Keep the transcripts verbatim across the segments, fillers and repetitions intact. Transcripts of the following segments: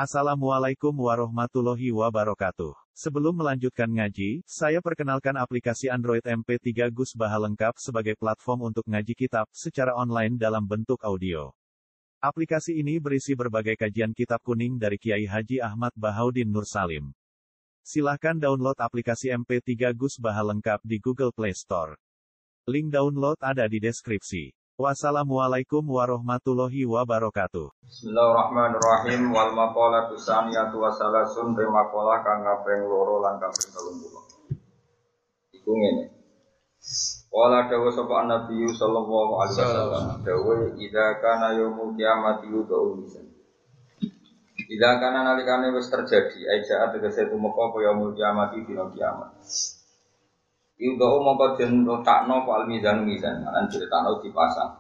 Assalamualaikum warahmatullahi wabarakatuh. Sebelum melanjutkan ngaji, saya perkenalkan aplikasi Android M P tiga Gus Baha lengkap sebagai platform untuk ngaji kitab secara online dalam bentuk audio. Aplikasi ini berisi berbagai kajian kitab kuning dari Kiai Haji Ahmad Bahaudin Nur Salim. Silahkan download aplikasi M P tiga Gus Baha lengkap di Google Play Store. Link download ada di deskripsi. Wassalamualaikum warahmatullahi wabarakatuh. Bismillahirrahmanirrahim. Wal maqalatu saniyatu wa salasun te maqalah kang kaping loro lan kaping telung puluh. Iku ngene. Wala dawu sapa Nabi sallallahu alaihi wasallam dawu idza kana yaumul kiamati yudu lisan. Idza kana nalikane wis terjadi aja tegese tumeka apa yaumul kiamati dina kiamat. Yudo mongko den letakno fal mizan mizan, lan diletakno dipasang.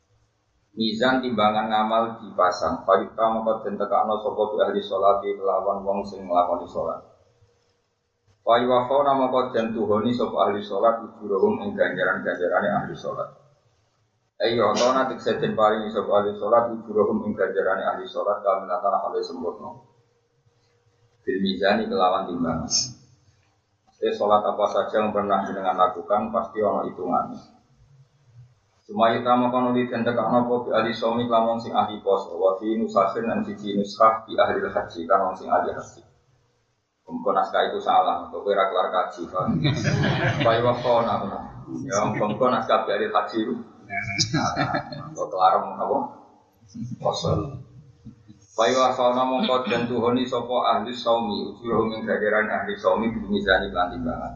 Mizan timbangan ngamal dipasang. Parita mongko den tekakno sapa ahli salat kelawan wong sing nglakoni salat. Wa wafana mongko den tuhoni sapa ahli salat ujurahum ing ganjaran-ganjarane ahli salat. Ayo ana tekse den paringi sapa ahli salat ujurahum ing ganjarane ahli salat kamilatan hale sempurna. Bil mizani kelawan timbangan. Eh, sholat apa saja yang pernah dengan lakukan pasti ono hitungannya. Cuma kita makan di tenda karena po ahli somi lamun sing ahli pos, wafi nusahin dan siji nuskah di ahli haji kan sing ahli haji. Kemudian naskah itu salah, atau kira kelar kaji kan. Bayi waktu nak, yang kemudian naskah di ahli haji itu, atau kelar apa? Kosong. Bayi wasana mongko den tuhoni sapa ahli saumi ujurhum ing ganjaran ahli saumi bimizani lan timbangan.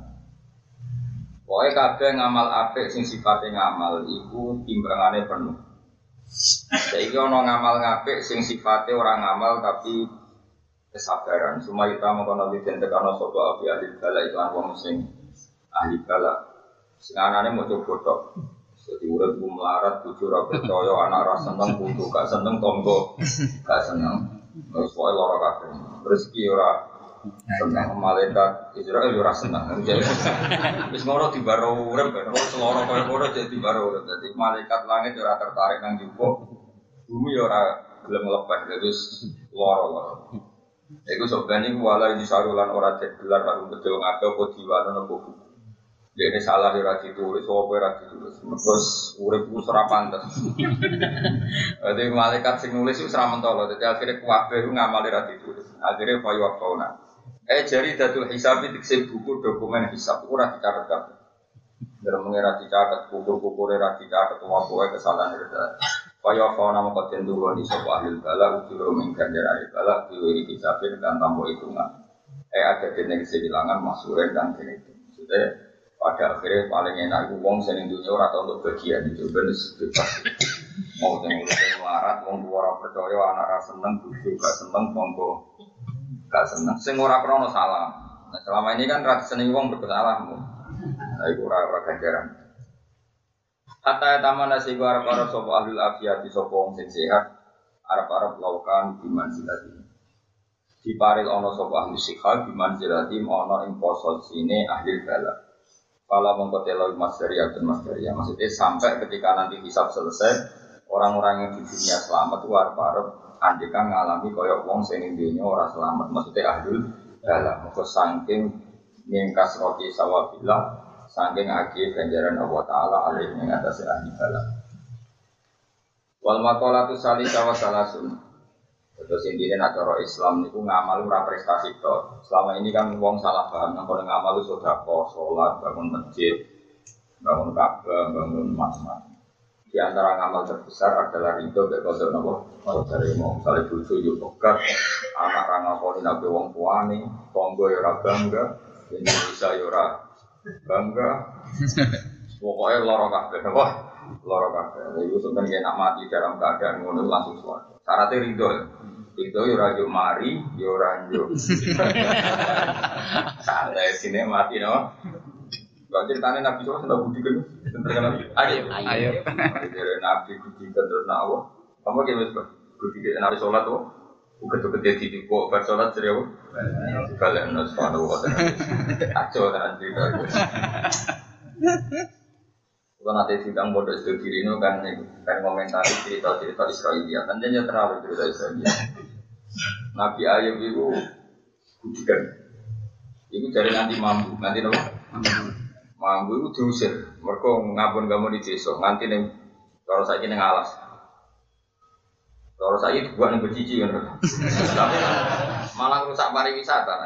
Pokoke kabeh ngamal apik sing sifate ngamal iku timbangane penuh. Saiki ana ngamal apik sing sifate ora ngamal tapi kesabaran. Sumayita mongko nabi den tekano sapa ahli bala iklan wong sing ahli bala. Sing anane moco botok. Jadi urip ku melarat, bojo ora percaya, anak ora seneng, putu gak seneng, tonggo gak seneng. Wis wae lara kabeh. Rezeki ora seneng, malaikat Israil ora seneng. Wis ngono dibaro urip, terus lara kaya ngono jadi dibaro urip. Dadi malaikat langit ora tertarik nang jupuk, bumi ora gelem lepas, terus lara-lara. Iku sobane wala disarulan ora gelar karo bedo ngake apa diwano apa buku. Dene salah ora ditulis, apa ora ditulis. Terus urip ku ora pantes. Dadi malaikat sing nulis wis ora mentolo, dadi akhire kabeh ku ngamali ora ditulis. Akhire fayu waqauna. Eh jari datul hisab dikse buku dokumen hisab ora dicatet kabeh. Dereng ora dicatet buku-buku ora dicatet wae kesalahan ora. Fayu waqauna moko den duweni sapa ahli bala ujur ing ganjaran bala diwiri kisabin kan tambo hitungan. Eh ada dene kehilangan masuren dan dene itu. Sudah pada akhirnya paling enak itu wong sing dunya ora tau untuk bagian itu ben bebas. Mau sing urip melarat wong ora percaya anak ra seneng bojo gak seneng monggo gak seneng sing ora krono salah. Nah, selama ini kan ra seneng wong bersalah. Nah iku ora ora ganjaran. Hatta tamana sing arep-arep sapa ahli afiyati sapa wong sing sehat arep-arep laukan diman silati. Diparil ana sapa ahli sikha diman silati ana ing posisine ahli bala. Kalau mengkoteloi masteria dan masteria, maksudnya sampai ketika nanti hisab selesai, orang-orang yang di dunia selamat itu harap-harap andikan ngalami koyok wong sing dunia orang selamat, maksudnya ahlul dalam, maka saking mingkas roti sawabillah, saking agih ganjaran Allah Taala alih yang atas ahli dalam. Wal maqalatu salisa wa salasun. Terus intinya acara Islam itu ngamal ora prestasi tok. Selama ini kan wong salah paham nang kono ngamal itu sedekah, salat, bangun masjid, bangun Ka'bah, bangun macam-macam. Di antara ngamal terbesar adalah ridho mek kodok napa? Saudare mau sale bojo yo tobat, anak ra ngakoni nabi wong tuane, tangga yo ora bangga, Indonesia yo ora bangga. Pokoke lara kabeh, apa? Lara kabeh. Iku sebenarnya nak mati dalam keadaan ngono langsung suwarga. Syaratnya ridho. Ridho yo ora yo mari, yo ora yo. Santai sine mati no. Kok ceritane Nabi sallallahu alaihi wasallam budi kan? Terkenal. Ayo. Ayo. Dari Nabi budi kan terus nawa. Kamu ki wis budi Nabi salat to. Uga-uga dadi kok bar salat jare apa? Kalian nang subhanahu wa ta'ala. Aco tenan cerita. Kalau nanti sidang bodoh itu kiri itu kan kan komentari cerita-cerita Israelia, kan jadi terlalu cerita Israelia. Nabi Ayub itu bukan. Itu dari nanti mampu, nanti apa? Mampu itu diusir. Mereka ngabun kamu di desa, nanti neng kalau saya ini ngalas. Kalau saya itu buat nih bercici kan, tapi malah rusak pariwisata.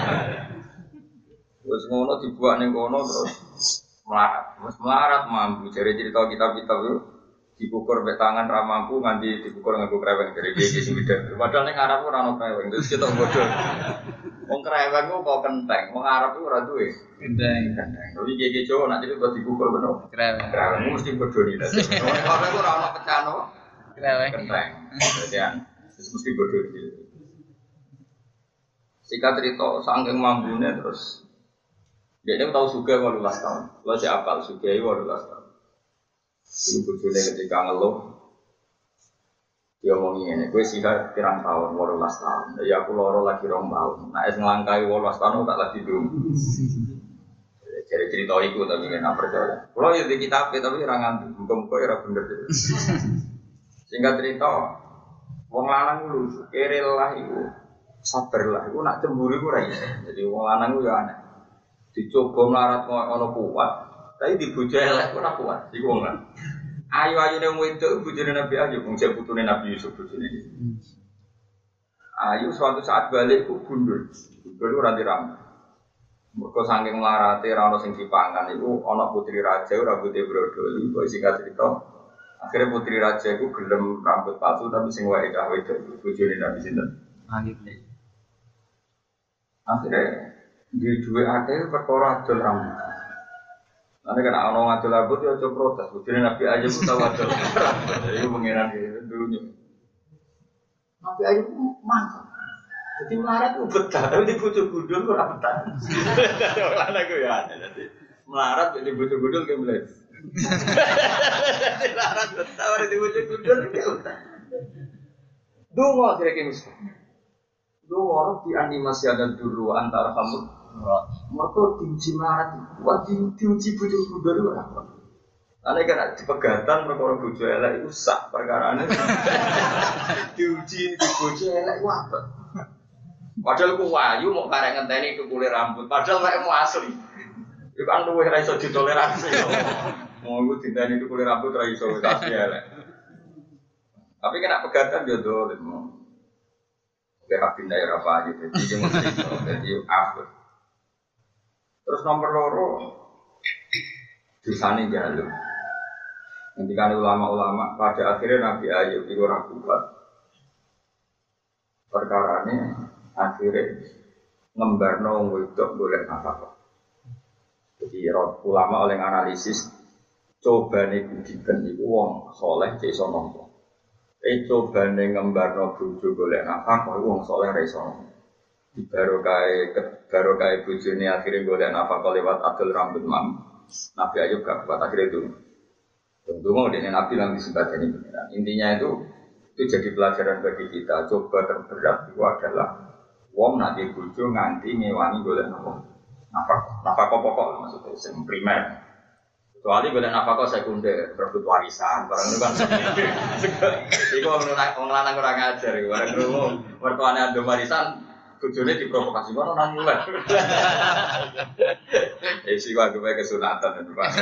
Terus ngono dibuat nih ngono terus melarat, terus melarat mampu. Jadi cerita kitab-kitab itu dikukur be tangan ramampu nganti dikukur nganggo kreweng dari dia sing gede. Padahal ning Arab ora ono kreweng, terus kita bodoh. Wong kreweng ku kok kenteng, wong Arab ku ora duwe. Kenteng, kenteng. Tapi gege Jawa nek itu dikukur beno. Kreweng. Kreweng mesti bodoh nih. Wong Arab ku ora ono pecahan apa? Kreweng. Kenteng. Jadi terus mesti bodoh gitu. Singkat cerita, saking mambune terus dia ini tahu suga walau belas tahun. Lo si apal suga itu walau belas tahun. Ibu bujune ketika ngeluh, dia ngomongin ini, gue sih pirang tahun, walau belas tahun. Ya aku loro lagi rong tahun. Nah es ngelangkai walau belas tahun tak lagi dulu. Jadi cerita itu tapi nggak percaya. Kalau ya di kitab tapi rangan, bukan bukan era bener. Singkat cerita, wong lanang lu kerel lah itu, sabar lah. Itu nak cemburu itu rai. Jadi wong lanang itu ya aneh. Dicoba melarat ono kuat, tapi dibujuk elek ora kuat. Iku wong kan. Ayu-ayu nang wedok bojone Nabi Ayub, wong jek putune Nabi Yusuf bojone. Ayu suatu saat balik ku gundul. Gundul ora diram. Mergo saking melarate ora ono sing dipangan iku ana putri raja rambute brodol. Kok singkat cerita, akhirnya putri raja iku gelem rambut palsu tapi sing wae cah wedok bojone Nabi sinten? Ayub. Akhirnya di dua akhir perkara adol rambut. Nanti kena orang adol rambut ya coba protes. Buktinya Nabi aja pun tahu adol rambut. Jadi pengiran itu dulunya. Nabi aja pun mantap. Jadi melarat itu betah, tapi di bujuk gudul itu tidak betah. Orang aku ya nanti melarat di bujuk gudul kayak belas. Jadi melarat betah, di bujuk gudul kayak betah. Dua kira-kira mesti. Dua orang dianimasi ada dulu antara kamu. Mereka diuji melarat, wah diuji bujuk gudul itu apa? Karena kan di pegatan mereka orang bujuk elek itu sak perkaraannya. Diuji di bujuk elek itu apa? Padahal ku wayu mau karek ngenteni itu kulit rambut, padahal kayak mau asli. Itu kan luwih ra iso ditoleransi. Mau iku dinteni itu kulit rambut ra iso asli elek. Tapi kena pegatan yo dolen. Oke, habis daerah apa aja, jadi mesti jadi apa? Terus nomor loro, dosane jalur. Ketika ulama-ulama pada akhirnya Nabi Ayub itu ragukan perkara ini akhirnya ngembarno wedok boleh nafkah. Jadi ulama oleh analisis coba nih budikan itu wong soleh cek sono. Eh coba nih ngembarno bojo boleh nafkah wong soleh reso. Di barokai barokai bojo ini akhirnya boleh nafkah lewat adol rambut mam. Nabi Ayub gak kuat akhirnya itu. Tentu mau dengan Nabi nanti sebagai ini. Intinya itu itu jadi pelajaran bagi kita. Coba terberat itu adalah wong nanti bojo nganti ngewangi boleh nafkah. Nafkah nafkah pokok maksudnya yang primer. Kecuali boleh nafkah sekunder, berebut warisan, barang itu kan. Iku orang lanang kurang ajar, barang itu mertuane ando warisan, bojone diprovokasi ngono nang mulai. Eh sih gua gue kesunatan itu Pak.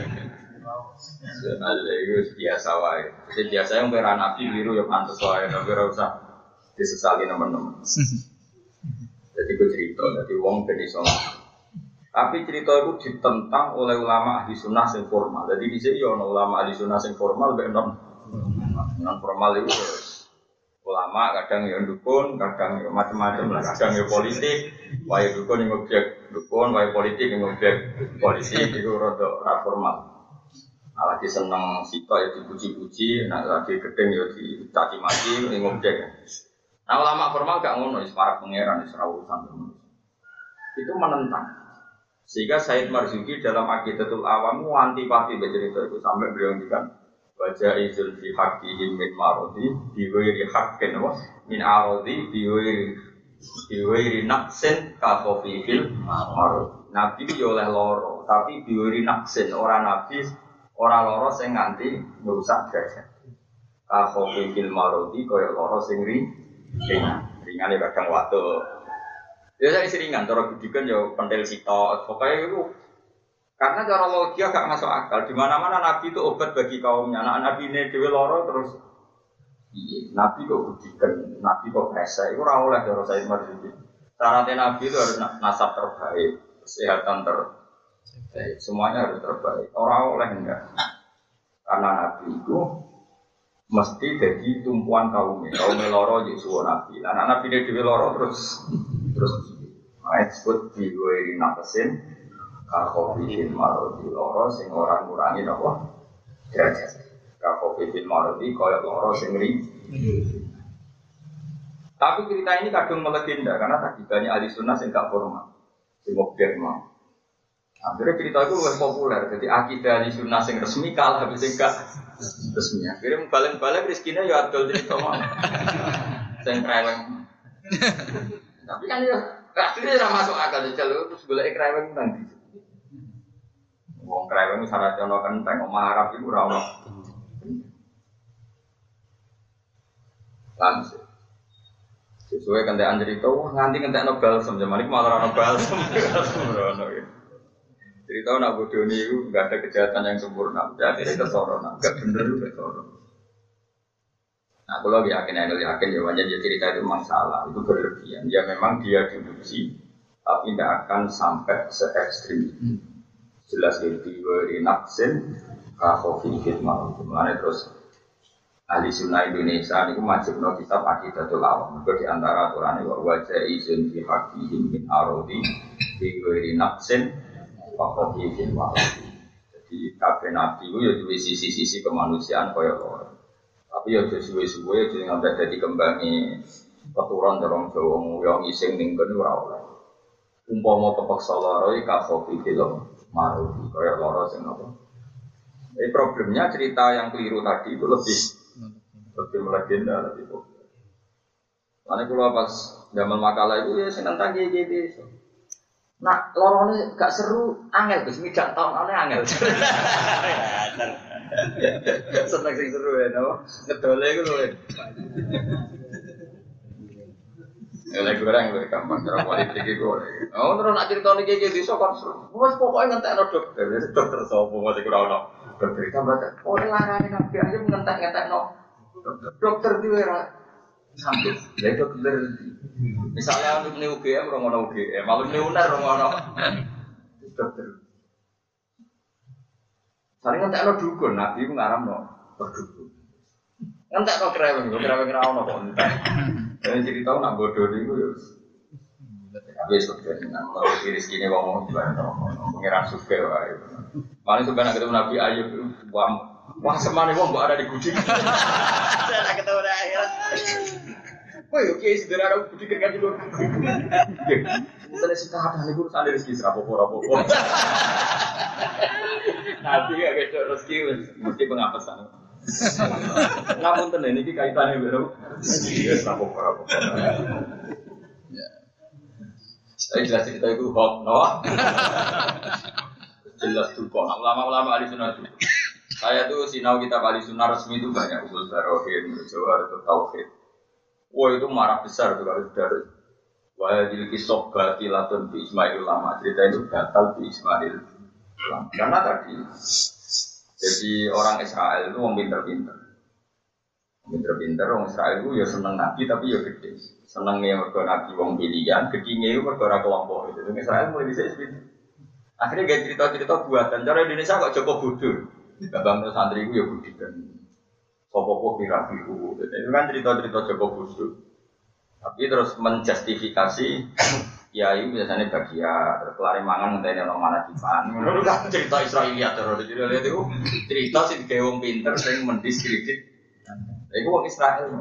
Nah, itu biasa wae. Jadi biasa yang beran nabi biru ya pantes wae, tapi ora usah disesali teman-teman. Jadi gue cerita, jadi wong ben iso. Tapi cerita itu ditentang oleh ulama ahli sunnah yang formal. Jadi di sini ada ulama ahli sunnah yang formal, non non formal itu ulama kadang yang dukun, kadang yang macam-macam lah, kadang yang politik, wae dukun yang objek dukun, wae politik yang objek politik itu rada formal. Nah, lagi seneng sitok ya dipuji-puji, nah lagi gedeng ya dicaci maki yang objek. Nah ulama formal gak ngono, para pangeran Isra urusan itu menentang. Sehingga Said Marzuki dalam Aqidatul Awam antipati bercerita itu sampai beliau ngendikan baca izul fi haqqihim min marodi biwairi haqqin wa min arodi biwairi biwairi naqsin ka khafifil marod. Nabi yo oleh loro, tapi biwairi naqsin ora nabi ora loro sing nganti ngrusak derajat. Ka khafifil marodi kaya loro sing ri ringan, ringan ya kadang waktu. Ya saya isi ringan, cara gudikan ya pentil sitok, pokoknya itu karena cara logika gak masuk akal. Di mana-mana Nabi itu obat bagi kaumnya. Anak Nabi ini dewe loro terus, iya, Nabi kok gudikan, Nabi kok rese, itu ora oleh cara saya Marzuki. Syaratnya Nabi itu harus nasab terbaik, kesehatan terbaik, semuanya harus terbaik. Orang oleh enggak, karena Nabi itu mesti jadi tumpuan kaumnya. Kaumnya loro jadi suwa Nabi. Anak Nabi ini dewe loro terus terus, nah, disebut diwiri nakesin. Kakofifin marodi loro sing orang ngurangi apa? Derajat. Kakofifin marodi koyok loro sing ri. Tapi cerita ini kadung melegenda karena tadi banyak ahli sunnah yang gak formal, sing modern mau. Akhirnya cerita itu lebih populer. Jadi akidah ahli sunnah yang resmi kalah habis yang gak resmi. Akhirnya balik-balik rezekinya ya adol cerita mau. Sing kreweng. Tapi kan ya akhirnya tidak masuk akal jalur terus boleh kreweng nanti. Wong kreweng syarat ono kenteng omah Arab iku ora ono. Langsung. Sesuai kentekan cerita, nganti kentekno balsem zaman iku malah ono balsem. Ono ya. Cerita nak bodoni iku enggak ada kejahatan yang sempurna. Jadi itu soro nak enggak bener itu soro. Nah, kalau yakin anda yakin ya wajar cerita itu memang salah, itu berlebihan. Ya memang dia diuji, tapi tidak akan sampai se ekstrim itu. Jelas itu di naksin kafofi hikmah. Mulanya terus ahli sunnah Indonesia ini wajib no kitab Aqidatul Awam. Itu di antara aturan ini wajah izin fi hakihim min arodi di naksin kafofi hikmah. Jadi kabeh nabi itu ya di sisi-sisi kemanusiaan kaya loro. Tapi ya suwe-suwe jadi ngambil jadi kembangi keturunan dorong Jawa yang iseng ninggon ora oleh. Umpama kepeksa loro iki kafofi film maruti kaya loro sing apa. Jadi problemnya cerita yang keliru tadi itu lebih lebih melegenda lebih populer. Karena kalau pas zaman makalah itu ya seneng tadi gitu. Nah loro ini gak seru angel Gus mijak tahun ane angel. Seneng sing seru ya, no? Ngedole iku lho. Ya lek goreng lho gampang cara politik iku. Oh terus nak crito niki iki iso kon seru. Wes pokoke ngentekno dokter, dokter sapa mesti ora ono. Dokter tambah ora larane nabi aja ngentek-ngentekno. Dokter dhewe ra sampe. Lha dokter misalnya untuk U G M ora ono U G M, malu ne unar ora ono. Dokter Sari ngentekno dukun, nabi ku ngaramno berdukun. Ngentekno kreweng, kreweng ra ono kok entek. Dene cerita nak bodoh niku yo. Tapi sebenarnya nang mau rezekine wong wong pengiran suke wae. Paling suka nak ketemu Nabi Ayub wah wah semane wong kok ada di gudi. Saya nak ketemu akhirat. Woi oke sederhana gudi kan dulu. Misalnya sing kathah niku urusan rezeki rapopo-rapopo. Nabi gak ketok rezeki mesti pengapesan. Namun tenan iki kaitane karo iya rapopo-rapopo. Saya jelas cerita itu hoax, no? Jelas duka. Ulama-ulama ahli sunnah itu. Saya tuh sinau kitab ahli sunnah resmi itu banyak usul barohin, jawhar tauhid. Wah itu marah besar tuh kalau sudah. Wah jadi kisah batilatun bi Ismail ulama. Cerita itu batal bi Ismail ulama. Karena tadi jadi orang Israel itu orang pinter-pinter. Pinter-pinter orang Israel itu ya seneng nabi tapi ya gede. Senengnya mergo nabi wong pilihan, gedine itu mergo ora kelompok itu. Israel mulai bisa seperti. Akhirnya gak cerita-cerita buatan. Cara Indonesia kok Joko bodoh. Babang santri itu ya budikan. Sopo-sopo pirabiku. Itu kan cerita-cerita Joko bodoh. Tapi terus menjustifikasi ya itu biasanya bagian terus kelari mangan ngenteni ono mana dipan. Ngono kan cerita Israiliyat terus jadi itu cerita sing gawe wong pinter sing mendiskredit. Iku wong Israel.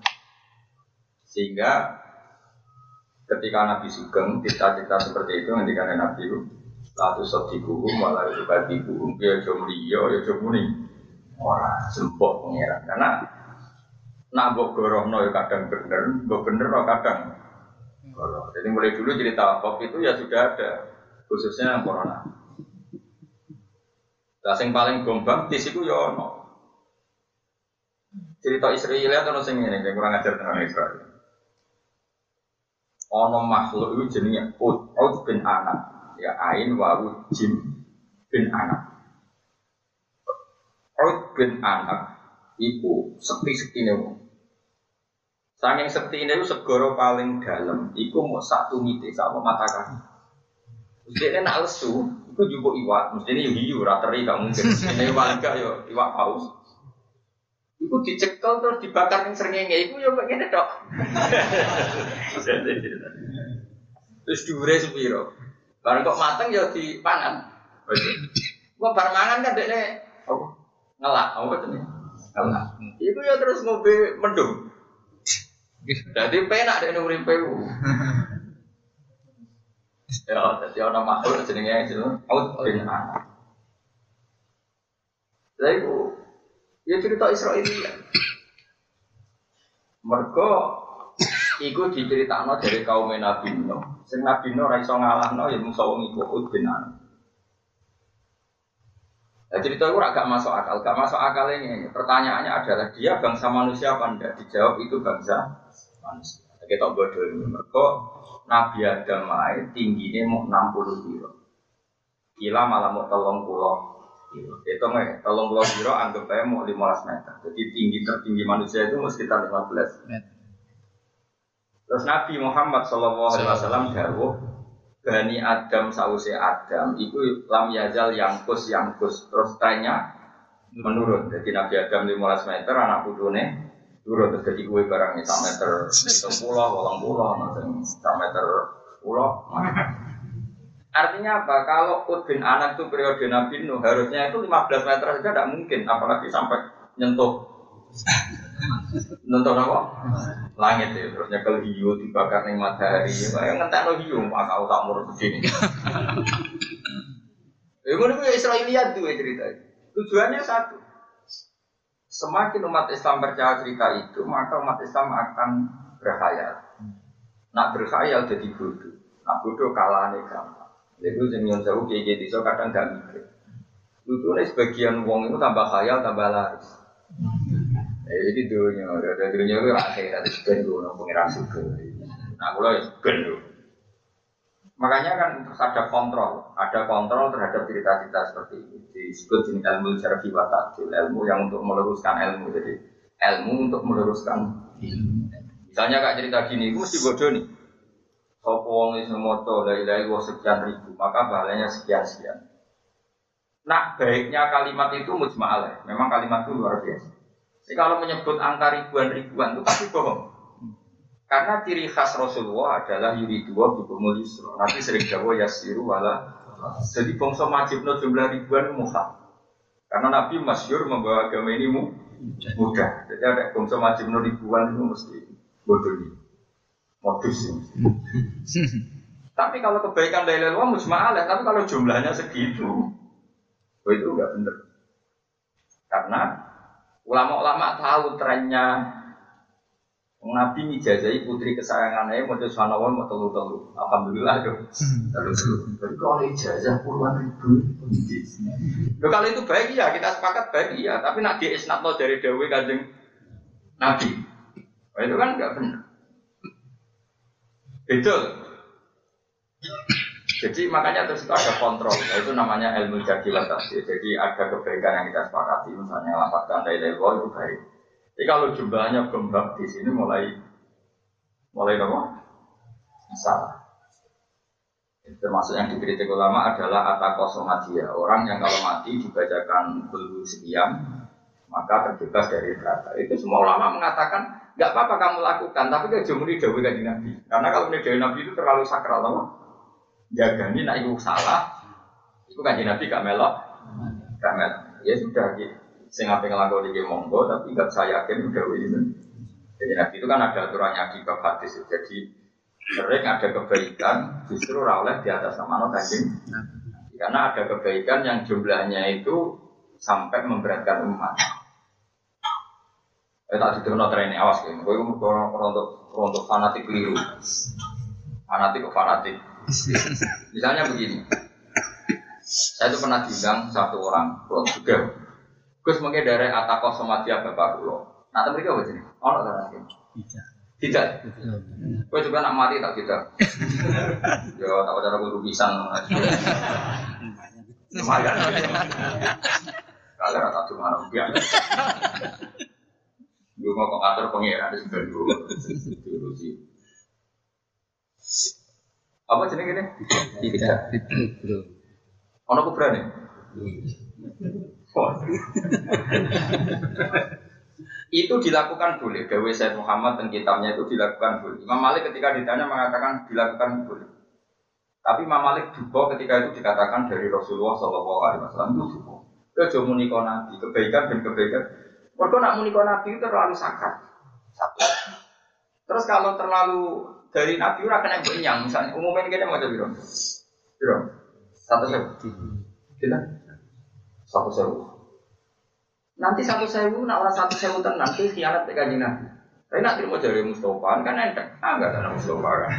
Sehingga ketika Nabi Sugeng cerita-cerita seperti itu ngendikane Nabi itu lalu sodiku malah itu badiku ya jomliyo ya jomuni ora sempok pengiran karena nak mbok gorohno ya kadang bener mbok bener kadang goroh. Jadi mulai dulu cerita Bob itu ya sudah ada khususnya yang corona. Lah sing paling bombastis iku ya ono cerita Israel ono sing ngene kurang ajar tenan Israel. Ono makhluk itu jenenge Ud, Ud bin Anak. Ya ain wawu jim bin Anak. Ud bin Anak iku sekti-sektine wong. Saking sektine iku segara paling dalam iku mau satu mite sama mata kaki. Mestine nak lesu, iku njupuk iwak, mestine yo hiu ora teri gak mungkin. Mestine iwak gak yo iwak paus. Iku dicekel terus dibakar ning srengenge iku yo kok ngene tok. Terus dhuwure sepiro? Bareng kok mateng ya dipangan. Kok bar mangan kan dekne apa? Ngelak, apa jenenge? Ngelak. Iku ya terus ngombe mendung. Dadi penak dekne uripe ku. Ya, dadi ana makhluk jenenge Ud bin Anak. Lha iku ya cerita Israiliyah. Mergo iku diceritakno dari kaum Nabi Nuh. Sing Nabi Nuh ora iso ngalahno ya mung wong iku Ud bin Anak. Nah, cerita itu agak masuk akal, gak masuk akal ini. Pertanyaannya adalah dia bangsa manusia apa enggak? Dijawab itu bangsa manusia. Kita bodoh ini. Mereka Nabi Adam lain tingginya mau enam puluh kilo. Gila malah mau telung puluh kilo. Itu nggak, telung puluh kilo anggap aja mau lima belas meter. Jadi tinggi tertinggi manusia itu sekitar lima belas meter. Terus Nabi Muhammad shallallahu alaihi wasallam dawuh Bani Adam sause Adam itu lam yazal yangkus yangkus terus tanya menurun. Jadi Nabi Adam lima belas meter anak putune turun terus jadi kue barangnya satu meter sepuluh, walang puluh, satu meter sepuluh. Artinya apa? Kalau Ud bin Anak itu periode Nabi Nuh harusnya itu lima belas meter saja tidak mungkin, apalagi sampai nyentuh nyentuh apa? Langit ya, terus nyekel hiu dibakar ning matahari. Kayak ngentekno hiu, maka tak murut begini. Ya ngono kuwi Israiliyat duwe cerita. Tujuannya satu. Semakin umat Islam percaya cerita itu, maka umat Islam akan berkhayal. Nak berkhayal jadi bodoh. Nak bodoh kalahane gampang. Itu sing nyon sewu kiye iso kadang gak mikir. Lutune sebagian wong itu tambah khayal tambah laris. Eh jadi dunia, ada dunia itu rakyat ada sekian dulu, pengiran suku. Nah, kalau ya sekian dulu. Makanya kan terus ada kontrol, ada kontrol terhadap cerita-cerita seperti ini. Disebut jenis ilmu syar'i wa ta'dil, ilmu yang untuk meluruskan ilmu. Jadi ilmu untuk meluruskan ilmu. Misalnya kak cerita gini, itu mesti bodoh nih. Sopo wong iso maca la ilaha illallah sekian ribu, maka pahalanya sekian-sekian. Nah, baiknya kalimat itu mujma'alah. Memang kalimat itu luar biasa. Jadi kalau menyebut angka ribuan-ribuan itu pasti bohong. Karena ciri khas Rasulullah adalah yuridullah bikumul yusra. Nanti sering jawab yasiru wala. Jadi bangsa majibno jumlah ribuan mukhaf. Karena Nabi masyhur membawa agama ini mudah. Jadi ada bangsa majibno ribuan itu mesti bodoh ini. Modus ini. Tapi kalau kebaikan dari Allah mujma'alah, tapi kalau jumlahnya segitu, itu enggak benar. Karena ulama-ulama tahu trennya Nabi mijazahi putri kesayangannya mau subhanallah mau telu-telu. Alhamdulillah dong. Telu-telu. Tapi kalau ijazah puluhan ribu. Loh, kalau itu baik ya, kita sepakat baik ya. Tapi nak di isnadno dari Dawe Kanjeng Nabi. Nah, itu kan enggak benar. Betul. Jadi makanya terus itu ada kontrol, itu namanya ilmu jadi watasi. Jadi ada kebaikan yang kita sepakati, misalnya lapatkan dari level itu baik. Jadi kalau jumlahnya gembak di sini mulai mulai apa? Salah. Termasuk yang dikritik ulama adalah atakosomadia, orang yang kalau mati dibacakan bulu sekian maka terbebas dari neraka. Itu semua ulama mengatakan nggak apa-apa kamu lakukan, tapi dia jumuri dawuh kanjeng Nabi. Karena kalau dawuh Nabi itu terlalu sakral, apa? Jaga ini nak ibu salah, itu kan Nabi gak melok, gak melok. Ya sudah, saya ngapain ngelakoni di monggo, tapi gak saya yakin udah itu. Jadi Nabi itu kan ada aturannya di bab hadis. Jadi sering ada kebaikan, justru rawleh di atas nama kanjeng. Karena ada kebaikan yang jumlahnya itu sampai memberatkan umat. Eh tak diterima tren awas kan, gue orang untuk untuk fanatik keliru, fanatik ke fanatik. Misalnya begini, saya itu pernah diundang satu orang, kalau juga, Gus mungkin dari Atakoh Somatia Bapak Kulo. Nah, tapi mereka apa sih? Oh, nggak tahu. Tidak. Kowe juga nak mati tak tidak. Yo tak cara kudu pisan. Lumayan. Kalau tak cuma rupiah. Gue mau ngatur pengiran di sebelah dulu. Apa jenis ini? Tidak. Ono kubra nih. Itu dilakukan boleh. Dawe Sayyid Muhammad dan kitabnya itu dilakukan boleh. Imam Malik ketika ditanya mengatakan dilakukan boleh. Tapi Imam Malik juga ketika itu dikatakan dari Rasulullah Shallallahu Alaihi Wasallam itu juga. Kejo munikon nabi kebaikan dan kebaikan. Mereka nak munikon nabi itu terlalu sakral. Satu. Terus kalau terlalu dari nabi ora kena benyang misalnya umumnya kita mau jadi ron. Ron. Satu sewu. Kita. Satu sewu. Nanti satu sewu, nak orang satu sewu tenang, nanti khianat ke kanjeng Nabi. Tapi nak terima jari Mustafa kan enteng, ah nggak ada Mustafa kan.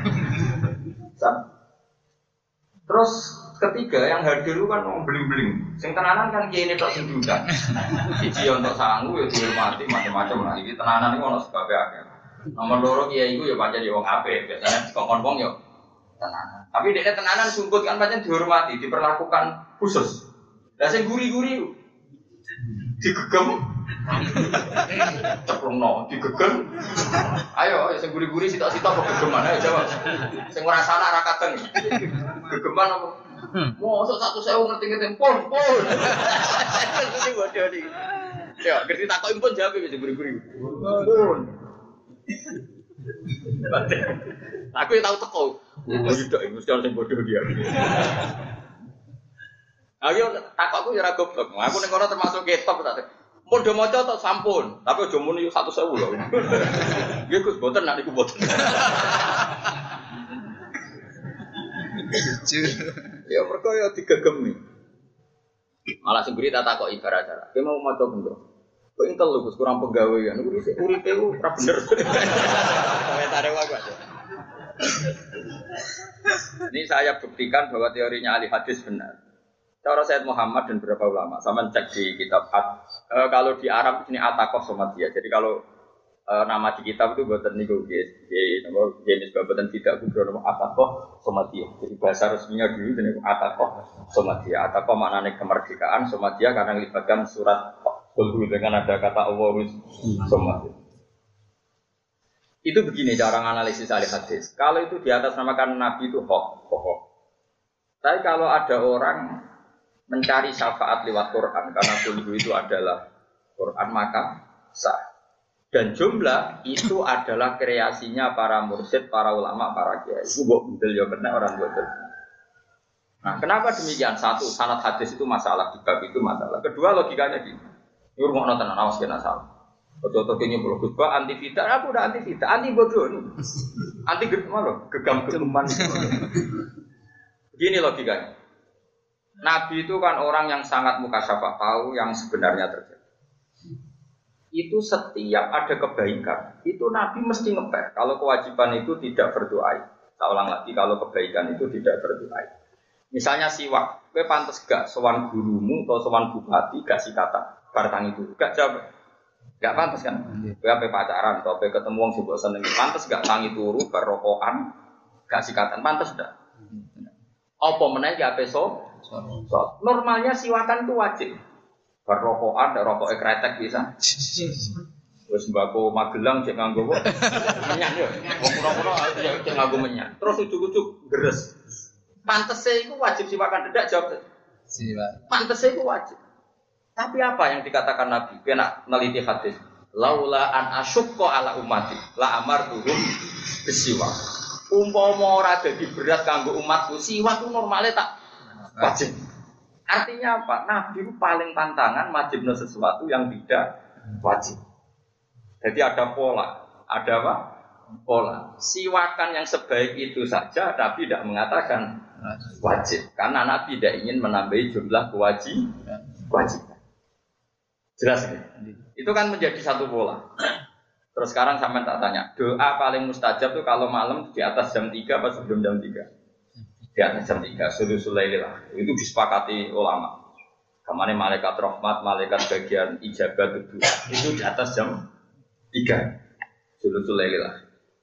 Terus ketiga yang hadir itu kan mau beling-beling. Sing tenanan kan kiai ini tak sendukan. Iji untuk sanggup ya dihormati macam-macam lah. Ini tenanan itu ono sebab akeh. Nomor loro kiai itu ya pancen ya wong apik, biasanya kongkon-kong ya tenanan. Tapi dekne tenanan sumput kan pancen dihormati, diperlakukan khusus. Lah sing guri-guri digegem ceplungno digegem ayo sing guri-guri sitok-sitok kok gegeman ayo jawab sing ora salah ra kadeng gegeman apa mosok satu sewu ngerti-ngerti pun pun iki bodoh iki ya ngerti takoki pun jawab iki guri-guri pun aku ya tau teko ndok iki mesti sing bodoh dia. Ayo takokku ya ora goblok. Aku ning kono termasuk ketok tak. Mun do maca tok sampun, tapi aja muni satu sewu lho. Nggih Gus, mboten nek niku mboten. Ya mergo ya digegemi. Malah sing beri tak takoki ibarat-ibarat. Ki mau maca bendro. Kok intel lho Gus kurang penggawean. Niku wis uripe ora bener. Komentare wae aja. Ini saya buktikan bahwa teorinya ahli hadis benar. Cara Sayyid Muhammad dan beberapa ulama, sama cek di kitab At, e, kalau di Arab ini Atakoh Somatia. Jadi kalau e, nama di kitab itu buatan niku, jadi nama jenis buatan tidak kubro nama Atakoh Somatia. Jadi bahasa resminya dulu itu Atakoh Somatia. Atakoh maknanya kemerdekaan, Somatia karena melibatkan surat Qul dengan ada kata Allah Somatia. Itu begini cara analisis ahli hadis. Kalau itu di atas namakan Nabi itu hoax, hoax. Tapi kalau ada orang mencari syafaat lewat Quran karena dulu itu adalah Quran maka sah. Dan jumlah itu adalah kreasinya para mursyid, para ulama, para kiai. Itu mbok bendel ya benar orang betul. Nah, kenapa demikian? Satu, sanad hadis itu masalah, di bab itu masalah. Kedua, logikanya gini. Ini rumah nonton awas kena salah. Foto-foto ini belum khutbah anti fitnah, aku udah anti fitnah, anti bodoh nih. Anti gegam loh, gegam-gegaman. Begini logikanya. Nabi itu kan orang yang sangat mukasyafah, tahu yang sebenarnya terjadi. Itu setiap ada kebaikan, itu Nabi mesti ngepek. Kalau kewajiban itu tidak berdoa. Saya ulang lagi, kalau kebaikan itu tidak berdoa. Misalnya siwak, kowe pantes gak sowan gurumu atau sowan bupati gak sikatan bartang itu, gak jawab. Gak pantes kan? Kowe ape pacaran atau ape ketemu wong sing mbok senengi, pantes gak tangi turu bar rokokan, gak sikatan, pantes ndak? Apa meneh gak ape so? So, normalnya siwakan itu wajib. Berrokokan, ada rokok ekretek bisa. Terus mbako Magelang cek nganggo menyak yo. Wong kuno-kuno cek nganggo menyak. Terus ujuk-ujuk geres. Pantese iku wajib siwakan tidak jawab. Siwak. Pantese iku wajib. Tapi apa yang dikatakan Nabi? Kena neliti hadis. Laula an asyqa ala ummati la amartuhum bisiwak. Umpama ora dadi berat kanggo umatku, siwak ku normale tak wajib. Artinya apa? Nabi itu paling pantangan wajibnya sesuatu yang tidak wajib. Jadi ada pola, ada apa? Pola. Siwakan yang sebaik itu saja, Nabi tidak mengatakan wajib, karena Nabi tidak ingin menambahi jumlah kewajiban. Kewajiban. Jelas ya? Itu kan menjadi satu pola. Terus sekarang sampai tak tanya, doa paling mustajab itu kalau malam di atas jam tiga atau sebelum jam tiga? Di atas jam tiga, sulusul lail lah. Itu disepakati ulama. Kemana malaikat rahmat, malaikat bagian ijabat itu, itu di atas jam tiga, sulusul lail lah.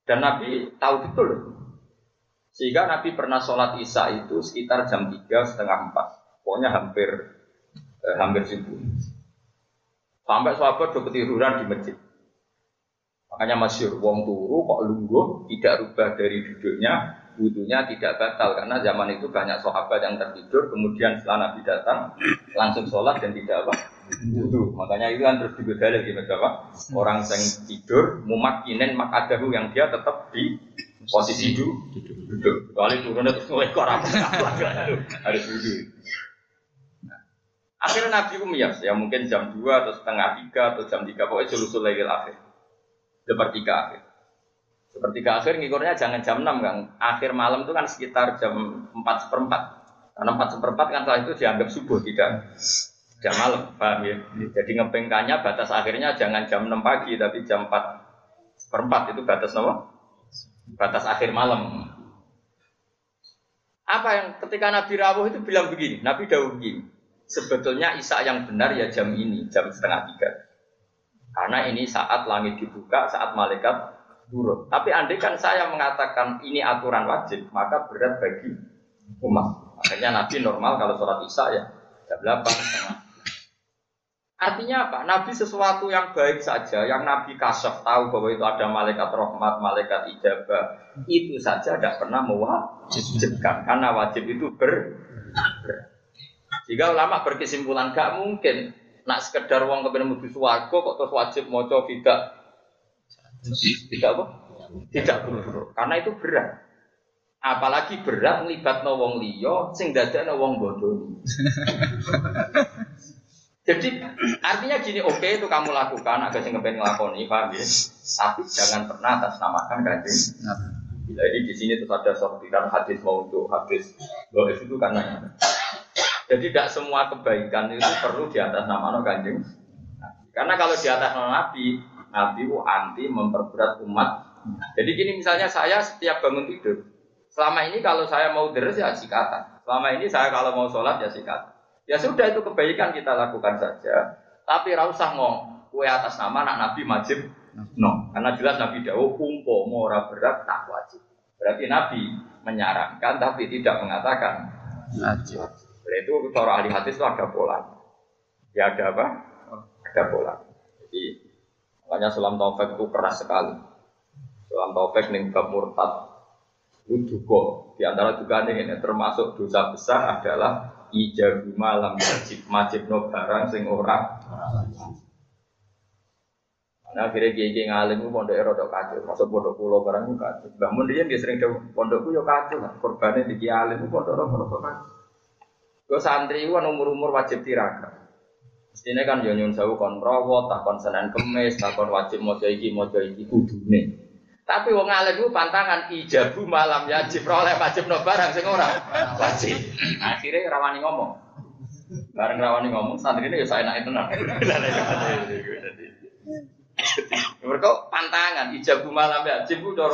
Dan Nabi tahu betul. Sehingga Nabi pernah sholat Isya itu sekitar jam tiga setengah empat. Pokoknya hampir eh, hampir subuh. Sampai sahabat udah ketiduran di masjid. Makanya masyhur wong turu kok lungguh tidak rubah dari duduknya, wudunya tidak batal karena zaman itu banyak sahabat yang tertidur kemudian setelah Nabi datang langsung sholat dan tidak apa wudu. Makanya itu kan terus digodali gitu apa? Orang yang tidur mumakkinen makadahu yang dia tetap di posisi duduk. Duduk. Kali turunnya terus mulai korak harus wudu. Akhirnya Nabi umiyas, ya mungkin jam dua atau setengah tiga atau jam tiga, pokoknya sulusul lailil akhir. Sepertiga akhir. Sepertiga akhir ngikurnya jangan jam enam kan. Akhir malam itu kan sekitar jam empat seperempat. Karena empat seperempat kan setelah itu dianggap subuh, tidak jam malam, paham ya? Jadi ngepengkannya batas akhirnya jangan jam enam pagi, tapi jam empat seperempat itu batas apa? Batas akhir malam. Apa yang ketika Nabi rawuh itu bilang begini, Nabi dawuh begini. Sebetulnya Isya yang benar ya jam ini, jam setengah tiga. Karena ini saat langit dibuka, saat malaikat turun. Tapi andai kan saya mengatakan ini aturan wajib, maka berat bagi umat. Akhirnya Nabi normal kalau sholat Isya ya jam delapan setengah. Artinya apa? Nabi sesuatu yang baik saja, yang Nabi kasyaf tahu bahwa itu ada malaikat rahmat, malaikat ijabah, itu saja tidak pernah mewajibkan. Karena wajib itu ber, ber. Jika ulama berkesimpulan gak mungkin nak sekedar wong kepen mlebu swarga kok terus wajib maca tidak tidak apa? Tidak buru-buru. Karena itu berat. Apalagi berat nglibatno wong liya sing dadekno wong bodoh. Jadi artinya gini, oke okay, itu kamu lakukan agak sing kepen nglakoni, paham ya? Tapi jangan pernah atas namakan Kanjeng Nabi. Jadi di sini terus ada sortiran hadis maudhu, hadis dhaif itu karena jadi tidak semua kebaikan itu perlu di atas nama Kanjeng Nabi. Karena kalau di atas nama Nabi, Nabi itu anti memperberat umat. Jadi gini misalnya saya setiap bangun tidur, selama ini kalau saya mau deres ya sikatan. Selama ini saya kalau mau sholat ya sikatan. Ya sudah itu kebaikan kita lakukan saja. Tapi ra usah ngomong kue atas nama anak Nabi wajib. No, karena jelas Nabi dawuh umpama ora berat tak wajib. Berarti Nabi menyarankan tapi tidak mengatakan wajib. Itu cara ahli hadis itu ada pola. Ya ada apa? Ada pola. Jadi makanya Sulam Taufik itu keras sekali. Sulam Taufik ning bab murtad itu juga di antara juga ini termasuk dosa besar adalah ijabu malam wajib wajibno barang sing ora. Nah akhirnya kiai ngalim itu pondok erodok kacau, masuk pondok pulau barang itu kacau. Bangun dia dia sering jauh pondokku yo kacau lah. Korbannya di kiai alim itu pondok erodok kacau. Kalau santri itu kan umur-umur wajib tirakat. Mestinya kan yo nyun sewu kon rawat, tak kon Senin Kemis, tak kon wajib mojo iki mojo iki kudune. Tapi wong alim itu pantangan ijabu malam wajib oleh wajib no barang sing ora wajib. Akhirnya rawani ngomong. Bareng rawani ngomong santri ini yo saenake tenan. Mereka pantangan ijabu malam wajib ku doro.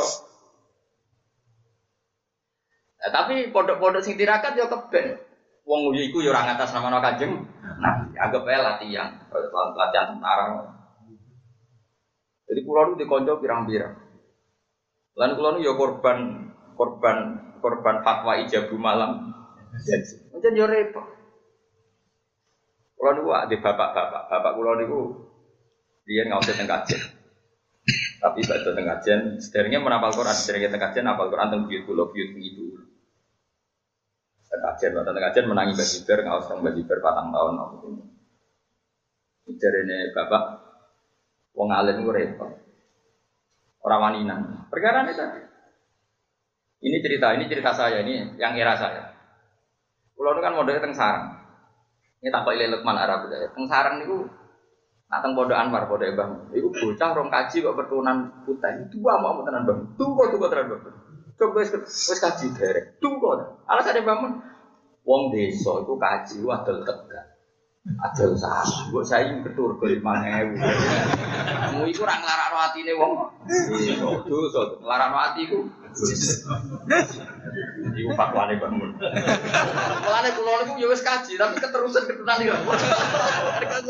Nah, tapi pondok-pondok sing tirakat yo keben. Wong iku yo ora ngatas nama Kanjeng Nabi, anggap ae latihan, latihan tentara. Jadi kula niku dikonco pirang-pirang. Lan kula niku yo korban korban korban fatwa ijabu malam. Jadi yo repot. Kula niku ade bapak-bapak, bapak kula niku dia ngawasi teng kajen. Tapi badhe teng kajen, sederenge menapal Quran, sederenge teng kajen apal Quran teng buyut kula buyut itu. Kajian, waktu kajian menangi bajiber, nggak usah bajiber patang tahun apa itu. Jadi ini bapak, wong alim gue repot, orang wanita. Perkara ini tadi. Ini cerita, ini cerita saya, ini yang era saya. Pulau itu kan modalnya teng sarang. Ini tak kok Lukman Arab ya. Teng sarang itu, nah teng Pondok Anwar, Pondok Bang. Itu bocah rong kaji kok berturunan putih. Itu apa mau tenan bang? Tuh kok tuh kok tenan bang. Coba wis wis kaji derek. Tunggu. Alasane bangun wong desa iku kaji wadol Tegal. Adol salah. Mbok saiki ketur lima ribu. Kamu iku ora nglarakno atine wong. Dosa, nglarakno ati iku. Iku fatwane bangun. Mulane kula niku ya wis kaji tapi keterusan ketunan iki.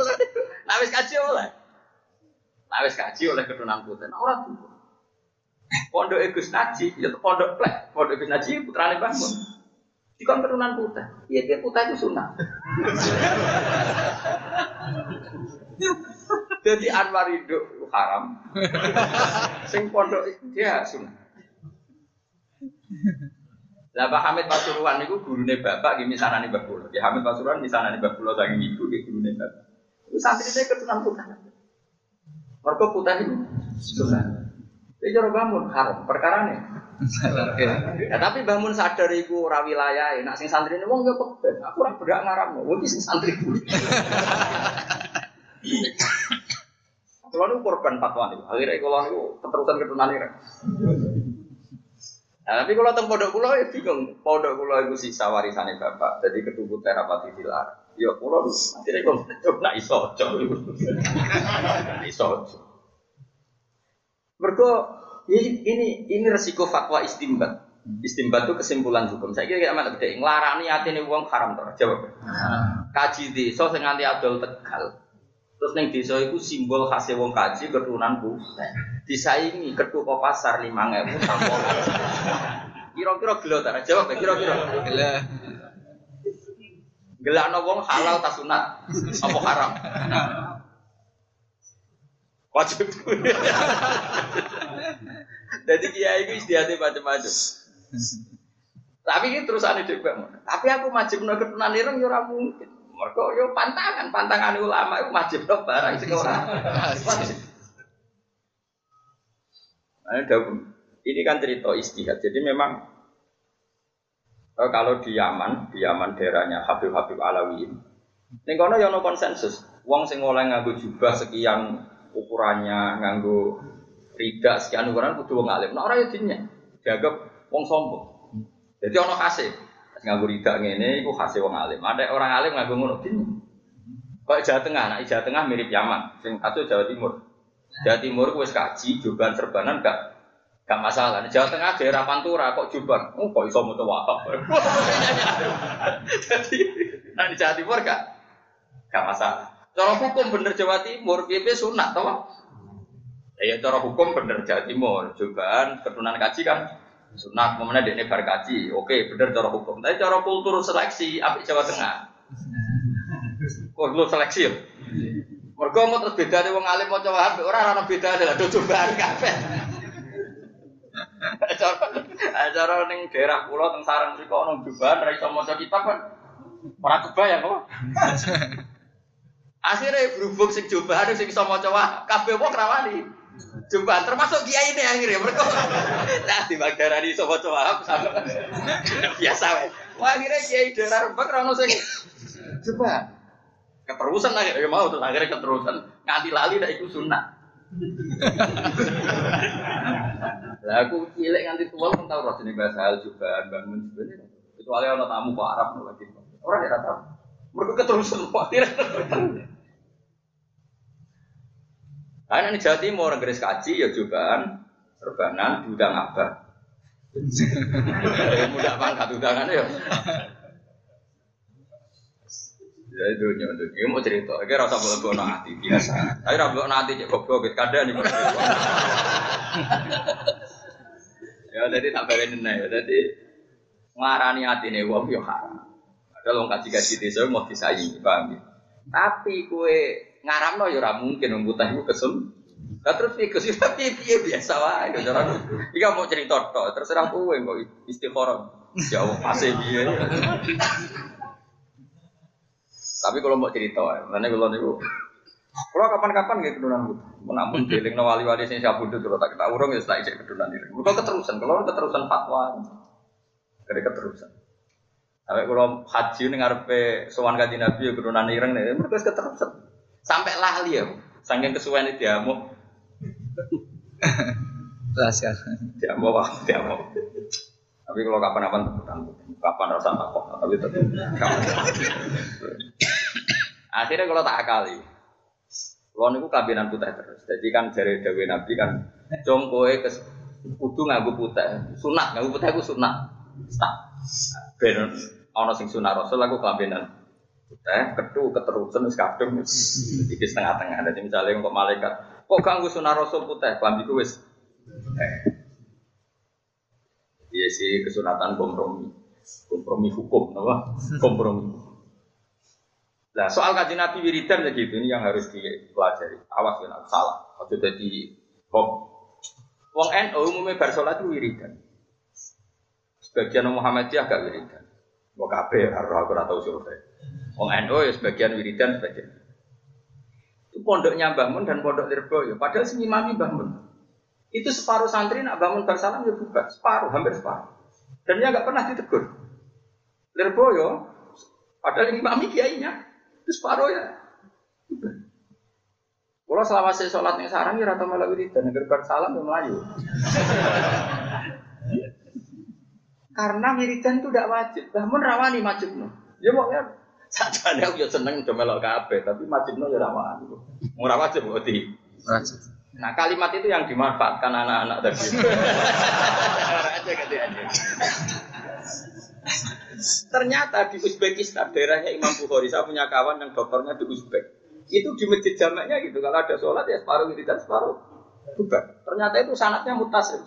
Nah wis kaji oleh. Nah wis kaji oleh ketunan putih. Ora tuh. Pondok Gus Naji, ya pondok plek, pondok Gus Naji putrane Mbah Mun. Dikon keturunan putih. Iya dia putih itu sunah. Jadi Anwar hidup haram. Sing pondok dia sunah. Lah Pak Hamid Pasuruan niku gurune bapak nggih misanane Mbah kula. Ki Hamid Pasuruan misanane Mbah kula saking ibu nggih gurune bapak. Iku santrine keturunan putih. Mergo putih itu sunah. Iki cara bangun haram perkarane. Ya, tapi bangun sadar iku ora wilayahe. Nek sing santrine wong yo keben. Aku ora berak ngaramno. Wong iki sing santriku. Kulo niku korban fatwa niku. Akhire kulo niku keterusan keturunan ireng. Nah, tapi kalau teng pondok kulo ya bingung. Pondok kulo iku sisa warisane bapak. Jadi ketubu terapati dilar. Ya kulo akhire kok ora iso aja. Iso. Mergo ini ini ini resiko fatwa istimbat. Istimbat itu kesimpulan hukum. Saya kira amat gede. Nglarani atine wong haram to. Jawab. Kaji desa sing nganti adol Tegal. Terus ning desa iku simbol khase wong kaji keturunan putih. Disaingi ketua pasar lima ribu sampol. Kira-kira gelo ta? Jawab kira-kira. Gelo. Gelakno wong halal ta sunat? Apa haram? Wajib. Jadi kiai itu istiadatnya macam-macam. Tapi ini terusane dhewe. Tapi aku wajibno keturunan ireng ya ora mungkin. Mergo yo pantangan, pantangan ulama itu wajibno barang sing ora. Ini kan cerita istihad. Jadi memang kalau di Yaman, di Yaman daerahnya Habib-Habib Alawiyin. Ning kono yo ono konsensus. Wong sing oleh nganggo jubah sekian ukurannya, nganggo rida sekian ukuran kudu wong alim. Nek ora yo dinya dianggap wong sombong. Jadi ono khase. Nganggo rida ngene iku khase wong alim. Ada orang alim nganggo ngono dinya. Kok Jawa Tengah, nek Jawa Tengah mirip Yaman, sing satu Jawa Timur. Jawa Timur wis kaji jubahan serbanan gak gak masalah. Nek Jawa Tengah daerah Pantura kok jubahan, oh kok iso moto wahab. Jadi nek di Jawa Timur gak gak masalah. Cara hukum bener Jawa Timur, piye sunat to? Ya cara hukum bener Jawa Timur, jubahan keturunan kaji kan sunat, momennya dekne bar kaji. Oke, bener cara hukum. Tapi cara kultur seleksi apik Jawa Tengah. Kultur seleksi ya. Mergo mau terus bedane wong alim maca wahab ora ana bedane lha do jubahan kabeh. Acara ning daerah kula teng sarang mriko ana jubahan ra iso maca kitab kan. Ora kebayang kok. Akhirnya berhubung sing jubahan sing iso maca wahab kabeh wong ra wani. Jubahan termasuk kiai ini akhirnya mergo. Lah di Magdarani iso maca wahab biasa wae. Wah akhirnya kiai daerah Rembang ra ono sing jubahan. Keterusan akhirnya mau terus akhirnya keterusan nganti lali dak iku sunah. Lah aku cilik nganti tua pun tau roh jeneng bahasa hal jubahan bangun sebenarnya. Kecuali ana tamu kok Arab lagi. Ora ora tau. Mergo keterusan khawatir. Ana ning Jawa Timur ngres kaji ya jubahan serbanan diundang abah. Mudah pangkat undangan ya. Ya itu nyontok. Iki mau cerita, iki rasa boleh-boleh hati biasa. Tapi ra boleh hati cek goblok kadang iki. Ya dadi tak baleni nek dadi ngarani atine wong yo haram. Padahal wong kaji-kaji desa mau disaingi, paham ya. Tapi kowe ngaramno yo ora mungkin wong putih iku kesel. Lah terus iki sih piye biasa wae cara. Iki mau cerita tok, terserah kowe kok istikharah. Ya Allah pase piye. Tapi kalau mau cerita, mana kalau niku, kalau kapan-kapan gitu keturunan, menampun jeling no wali-wali sing sabundut kalau tak kita urung ya tak ijek keturunan ini. Kalau keterusan, kalau keterusan fatwa, kira keterusan. Tapi kalau haji ini ngarepe sowan kanjeng Nabi ya keturunan ireng nih, mereka keterusan. Sampai lali ya, saking kesuwen itu diamuk. Laskar. Diamuk wah, diamuk. Tapi kalau kapan-kapan kapan rasa takut, tapi tetap kapan. Akhirnya kalau tak akali, kalau niku kabinan putih terus. Jadi kan dari Dewi Nabi kan, jongkoe ke kudu nganggo putih, sunat nganggo putih aku sunat. Stop. Ben ana sing sunat Rasul aku kabinan putih, ketu keterusan wis kadung iki setengah-tengah. Dadi misale kok malaikat, kok ganggu sunat Rasul putih, klambiku wis. sisi kesunatan kompromi, kompromi hukum, apa? Kompromi. Nah soal kajian Nabi wiridan begitu ini yang harus dipelajari. Awas ya, salah. Waktu jadi kok, wong N U umumnya bersolat itu wiridan. Sebagian Muhammadiyah agak wiridan. Mau kafe harus aku atau survei. Wong N U ya sebagian wiridan sebagian. Itu pondoknya Mbah Mun dan pondok Lirboyo. Padahal si imami Mbah Mun. Itu separuh santri nak bangun bersalam ya bubar, separuh, hampir separuh. Dan dia nggak pernah ditegur. Lirboyo, padahal imami kiainya, itu separuh ya. Bubar. Kalau selama saya sholat yang sarang, ya rata malah wiridan, negeri bersalam ya Melayu. Karena wiridan itu tidak wajib, bangun rawani wajibnya. Ya mau ya, saja aku ya seneng udah melok kabeh, tapi wajibnya ya rawani. Mau wajib berarti. Wajib. Nah kalimat itu yang dimanfaatkan anak-anak tadi. Ternyata di Uzbekistan, daerahnya Imam Bukhari, saya punya kawan yang dokternya di Uzbek. Itu di masjid jamaknya gitu, kalau ada sholat ya separuh wiridan, separuh bukan. Ternyata itu sanadnya mutasil.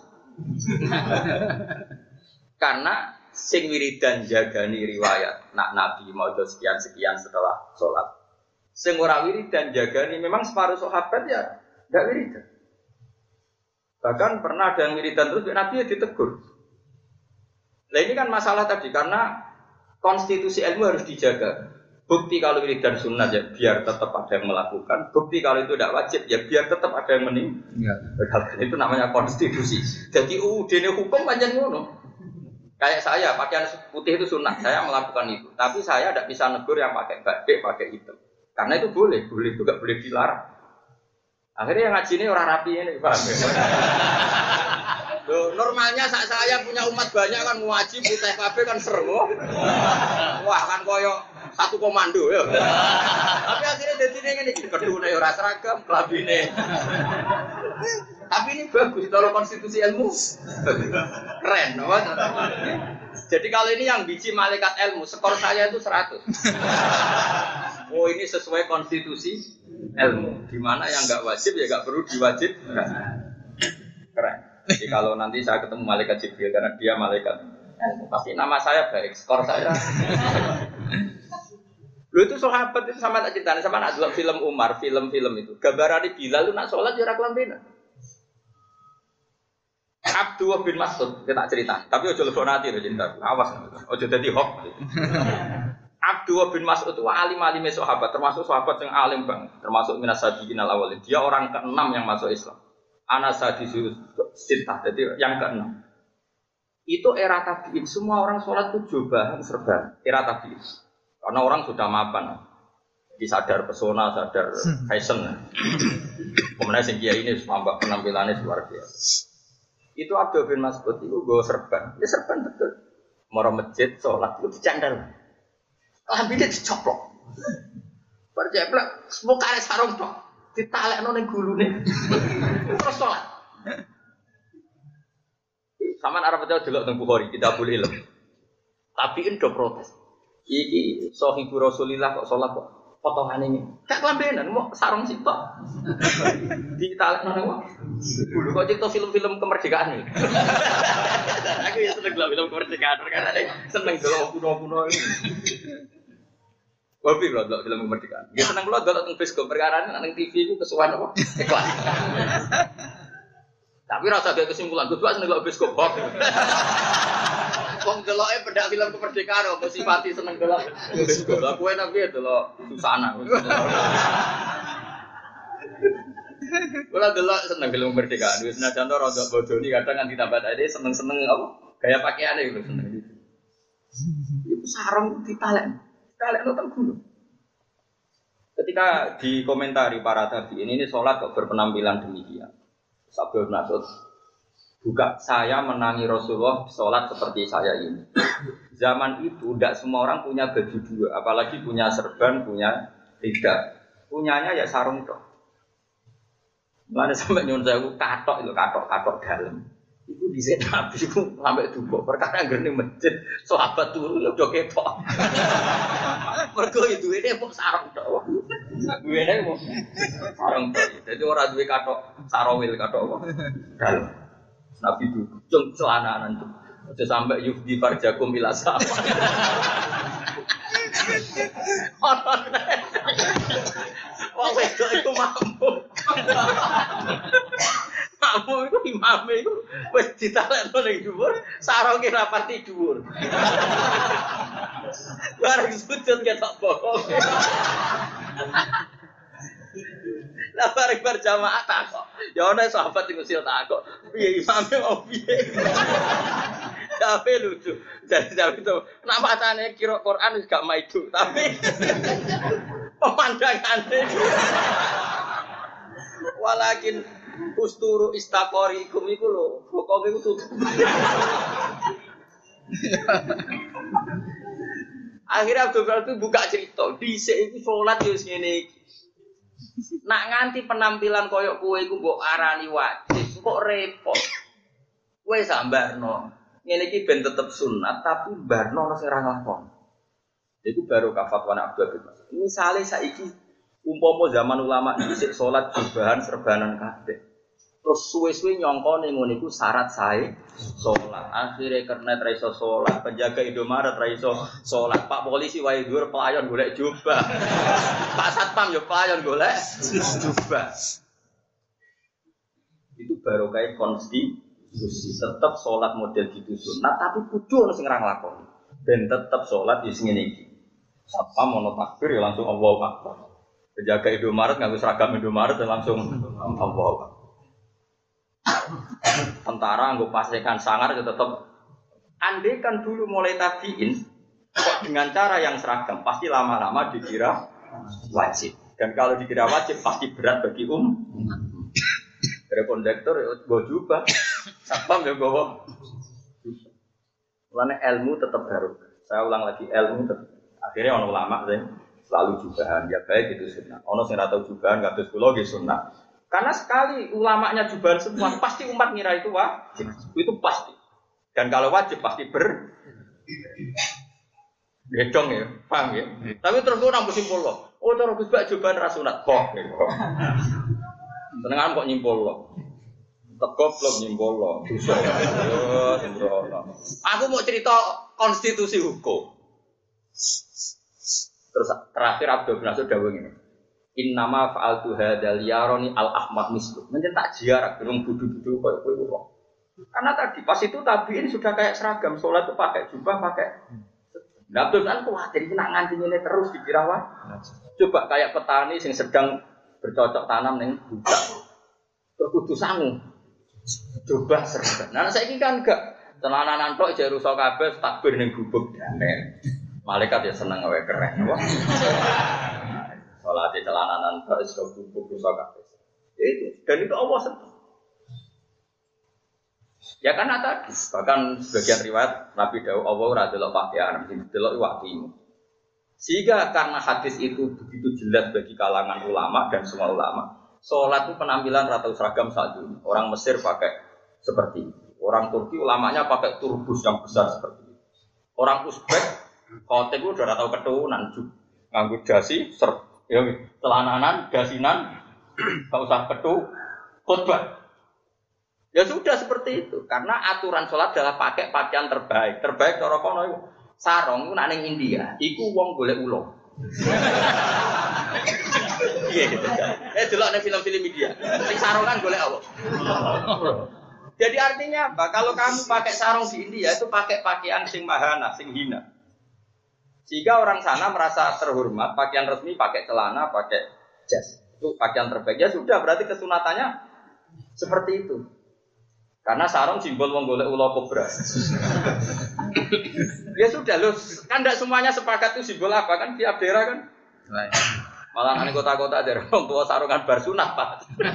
Karena sing wiridan jagani riwayat, nak Nabi mau sekian-sekian setelah sholat. Sing ora wiridan jagani memang separuh sahabat ya tidak wiridan. Bahkan pernah ada yang wiridan terus Nabi ya ditegur. Nah ini kan masalah tadi karena konstitusi ilmu harus dijaga. Bukti kalau wiridan sunnah ya biar tetap ada yang melakukan. Bukti kalau itu tidak wajib ya biar tetap ada yang meninggalkan. Itu namanya konstitusi. Jadi U U D hukum panjang ngono. Kayak saya pakaian putih itu sunnah, saya melakukan itu. Tapi saya tidak bisa negur yang pakai batik, pakai hitam. Karena itu boleh, boleh juga boleh dilarang. Akhirnya yang ngaji ini orang rapi ini, paham ya? Loh, normalnya saat saya punya umat banyak kan ngaji putih kabeh kan seru. Wah kan koyo satu komando ya. Tapi akhirnya jadi ini gini, kedune ora seragam, kelabine. Tapi ini bagus kalau konstitusi ilmu. Keren, apa? Jadi kalau ini yang biji malaikat ilmu, skor saya itu seratus. Oh ini sesuai konstitusi ilmu. Dimana yang nggak wajib ya nggak perlu diwajib. Keren. Jadi kalau nanti saya ketemu malaikat Jibril karena dia malaikat ilmu, pasti nama saya baik, skor saya. Lu itu sahabat itu sama tak ceritanya sama nak dalam film Umar, film-film itu. Gambaran Bilal lu nak sholat jarak lambena. Abdullah bin Mas'ud kita cerita, tapi ojo lebok nanti lo cerita. Awas, ojo jadi hoax. Abdullah bin Mas'ud itu alim-alim sahabat, termasuk sahabat yang alim banget, termasuk minas sabiqin al-awwalin. Dia orang keenam yang masuk Islam. Ana sadisu sitah, jadi yang keenam. Itu era tabi'in, semua orang sholat itu jubahan serban. Era tabi'in, karena orang sudah mapan, jadi sadar pesona, sadar fashion. Kemudian sing kiai ini tambah penampilannya luar biasa. Itu Abdullah bin Mas'ud itu gue serban, dia serban betul. Mau masjid sholat itu dicandal. Lambine dicoplok. Berjeblak, semua karek sarung tok. Ditalekno ning gulune. Terus salat. Saman arep percaya delok teng Bukhari, Kitabul Ilm. Tapi endo protes. Iki sahibu Rasulillah kok salat kok potongan ini. Gak kelambenan, mau sarung sitok. Ditalekno ning wong. Dulu kok cerita film-film kemerdekaan iki. Aku ya seneng film kemerdekaan karena seneng delok kuno-kuno ini. Hobi lho delok film kemerdekaan. Ya seneng kula delok teng bioskop perkara nang T V ku kesuwen apa? Iklan. Tapi rasa gak kesimpulan, gue seneng delok bioskop kok. Wong deloke pedak film kemerdekaan apa simpati seneng delok bioskop. Lah kowe nang piye delok susana. Kula delok seneng film kemerdekaan. Wis senajan to rada bodoni kadang nganti tambah ade seneng-seneng apa? Gaya pakaiane iku seneng gitu. Iku sarung ditalek. Kalian nonton dulu. Ketika dikomentari para tabi'in ini sholat kok berpenampilan demikian. Sabda Mas'ud, bukan saya menangi Rasulullah sholat seperti saya ini. Zaman itu tidak semua orang punya baju dua, apalagi punya serban, punya tidak. Punyanya ya sarung tok. Mulane sampai nyuwun sewu katok itu katok-katok dalam. Itu di Nabi itu sampai duka. Perkara ngene masjid sahabat turu ya udah ketok. Mergo itu ini kok sarung tok. Duwene kok sarung tok. Dadi ora duwe katok sarawil katok apa. Dalam. Nabi itu cung celananan itu. Aja sampai yufdi farjakum ila sama. Wong wedok iku mampu. Mampu iku imame iku wis ditalekno ning dhuwur, saronge rapati dhuwur. Bareng sujud ketok bokong. Lah bareng berjamaah takok. Ya ana sahabat sing usil takok, piye imame mau piye? Tapi lucu. Jadi tapi itu kenapa tane kira Quran wis gak maidu, tapi pemandangannya. Walakin usturu istaqorikum iku lho, pokoke iku tutup. Akhirnya Abdul Qadir buka cerita, dhisik iku salat yo ngene iki. Nak nganti penampilan koyok kowe iku mbok arani wajib, kok repot. Kowe sambarno. Ngene iki ben tetep sunat tapi barno ana sing ora nglakoni. Iku baru kafatwana Abdul Qadir. Misale saiki umpama zaman ulama dhisik salat jubahan serbanan kabeh. Terus suwe-suwe nyongko ning ngono iku syarat sae salat. Akhire kernet ra iso salat, penjaga Indomaret ra iso salat, Pak polisi wae dhuwur pelayon golek jubah. Pak satpam yo pelayon golek jubah. Itu baru kayak konstitusi. Tetap salat model gitu sunat tapi kudu ono sing ra nglakoni. Ben tetep salat yo sing ngene iki. Satpam ono takbir ya langsung Allahu Akbar. Penjaga Indomaret nganggo seragam Indomaret ya langsung Allahu Akbar. Tentara nggo pasekan sangar itu tetap andai kan dulu mulai tabiin kok dengan cara yang seragam pasti lama-lama dikira wajib dan kalau dikira wajib pasti berat bagi um dari kondektor gue jubah satpam ya gue karena ilmu tetap baru saya ulang lagi ilmu tetap akhirnya orang ulama selalu jubahan ya baik itu sunnah ono sing ora tau jubahan kados kula nggih sunnah. Karena sekali ulamanya jubahan semua, pasti umat ngira itu wajib. Itu pasti. Dan kalau wajib pasti ber gedong ya, paham ya? Tapi terus gue nampu simpul loh. Oh terus Gus Bak jubahan rasunat kok. Senengan kok nyimpul loh. Tekop lo nyimpul loh. Aku mau cerita konstitusi hukum. Terus terakhir Abdul Nasir dawuh ngene. Innama fa'altu hadzal yaroni al-ahmad mislu. Mencetak jarak gerung budu-budu koyo kowe kok. Karena tadi pas itu tabiin sudah kayak seragam, salat itu pakai jubah, pakai. Nah, terus kan kuwatir iki nak nganti ngene terus dikira wae. Coba kayak petani sing sedang bercocok tanam ning budak. Terus kudu sangu. Coba seragam. Nah, saiki kan enggak celananan tok jare rusak kabeh takbir ning gubuk damai. Malaikat ya seneng wae keren, apa? Salat di celananan tak iso bubuk rusak kabeh. Itu dan itu Allah sentuh. Ya karena tadi bahkan sebagian riwayat Nabi Daud Allah ora delok pakaian, sing delok iwatimu. Sehingga karena hadis itu begitu jelas bagi kalangan ulama dan semua ulama, salat itu penampilan rata seragam saat ini. Orang Mesir pakai seperti itu. Orang Turki ulamanya pakai turbus yang besar seperti itu. Orang Uzbek khotik itu udah tahu keturunan nganggo dasi ser ya, celananan, dasinan, tak usah petu, khutbah. Ya sudah seperti itu. Karena aturan sholat adalah pakai pakaian terbaik. Terbaik cara kono itu sarong itu nak ning India. Iku wong golek ulo. Iya gitu. Eh delok ning film-film India. Sing sarongan golek apa? Jadi artinya apa? Kalau kamu pakai sarung di India itu pakai pakaian sing mahana, sing hina. Sehingga orang sana merasa terhormat, pakaian resmi pakai celana, pakai jas. Itu pakaian terbaik. Ya sudah, berarti kesunatannya seperti itu. Karena sarung simbol wong golek ula kobra. Ya sudah loh, kan tidak semuanya sepakat itu simbol apa kan tiap daerah kan. Malah ane kota-kota daerah wong tua sarungan bar sunat, Pak.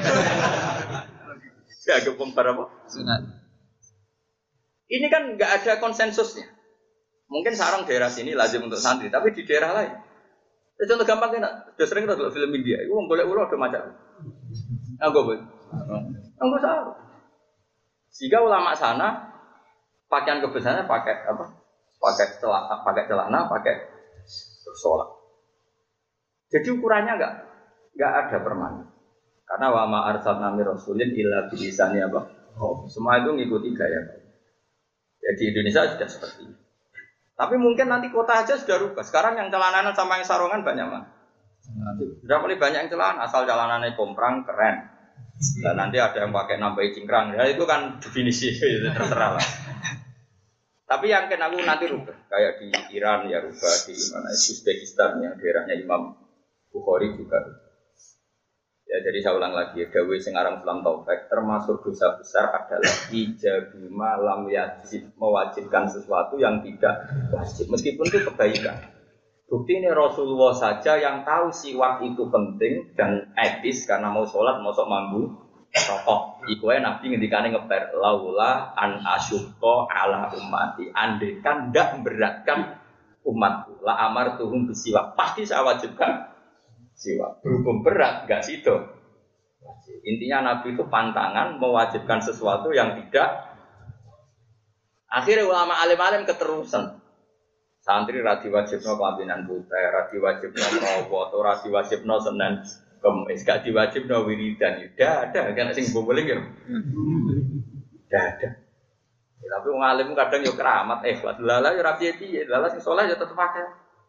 Ya gempong bar apa? Sunat. Ini kan enggak ada konsensusnya. Mungkin sarung daerah sini lazim untuk santri, tapi di daerah lain. Ya, contoh gampang kan, sudah sering kita film India, itu orang boleh ulah ada macam. Enggak boleh. Enggak sarung. Sehingga ulama sana pakaian kebesarannya pakai apa? Pakai celana, pakai celana, pakai sholat. Jadi ukurannya enggak enggak ada permanen. Karena wa ma arsalna mir rasulin illa bi lisani apa? Oh, semua itu ngikuti gaya. Ya di Indonesia sudah seperti itu. Tapi mungkin nanti kota aja sudah rubah. Sekarang yang celananan sama yang sarungan banyak mah. Sudah mulai banyak yang celana, asal celanannya komprang keren. Dan nanti ada yang pakai nambahi cingkrang. Ya itu kan definisi itu terserah lah. Tapi yang kena aku nanti rubah. Kayak di Iran ya rubah, di mana Uzbekistan yang daerahnya Imam Bukhari juga. Ya jadi saya ulang lagi, Dawi Singarang Sulam Taufik termasuk dosa besar adalah ijabima lam yajib, mewajibkan sesuatu yang tidak wajib meskipun itu kebaikan. Bukti ini Rasulullah saja yang tahu siwak itu penting dan etis karena mau sholat mau sok mambu rokok. Iku ae Nabi ngendikane ngeper laula an asyqa ala ummati. Andekan ndak memberatkan umatku, la amartuhum bisiwak. Pasti saya wajibkan siwak. Berhubung berat, enggak sido. Intinya Nabi itu pantangan mewajibkan sesuatu yang tidak. Akhirnya ulama alim-alim keterusan. Santri radi wajibno kelambinan putih, radi wajibno merowo, atau radi wajibno senen kemis, gak diwajibno wiridan. Tidak ada, kan sing boboling ya. Tidak ada. Ya, tapi wong alim kadang yo keramat, eh buat lala yo rapi piye, lala sing saleh yo tetep pakai.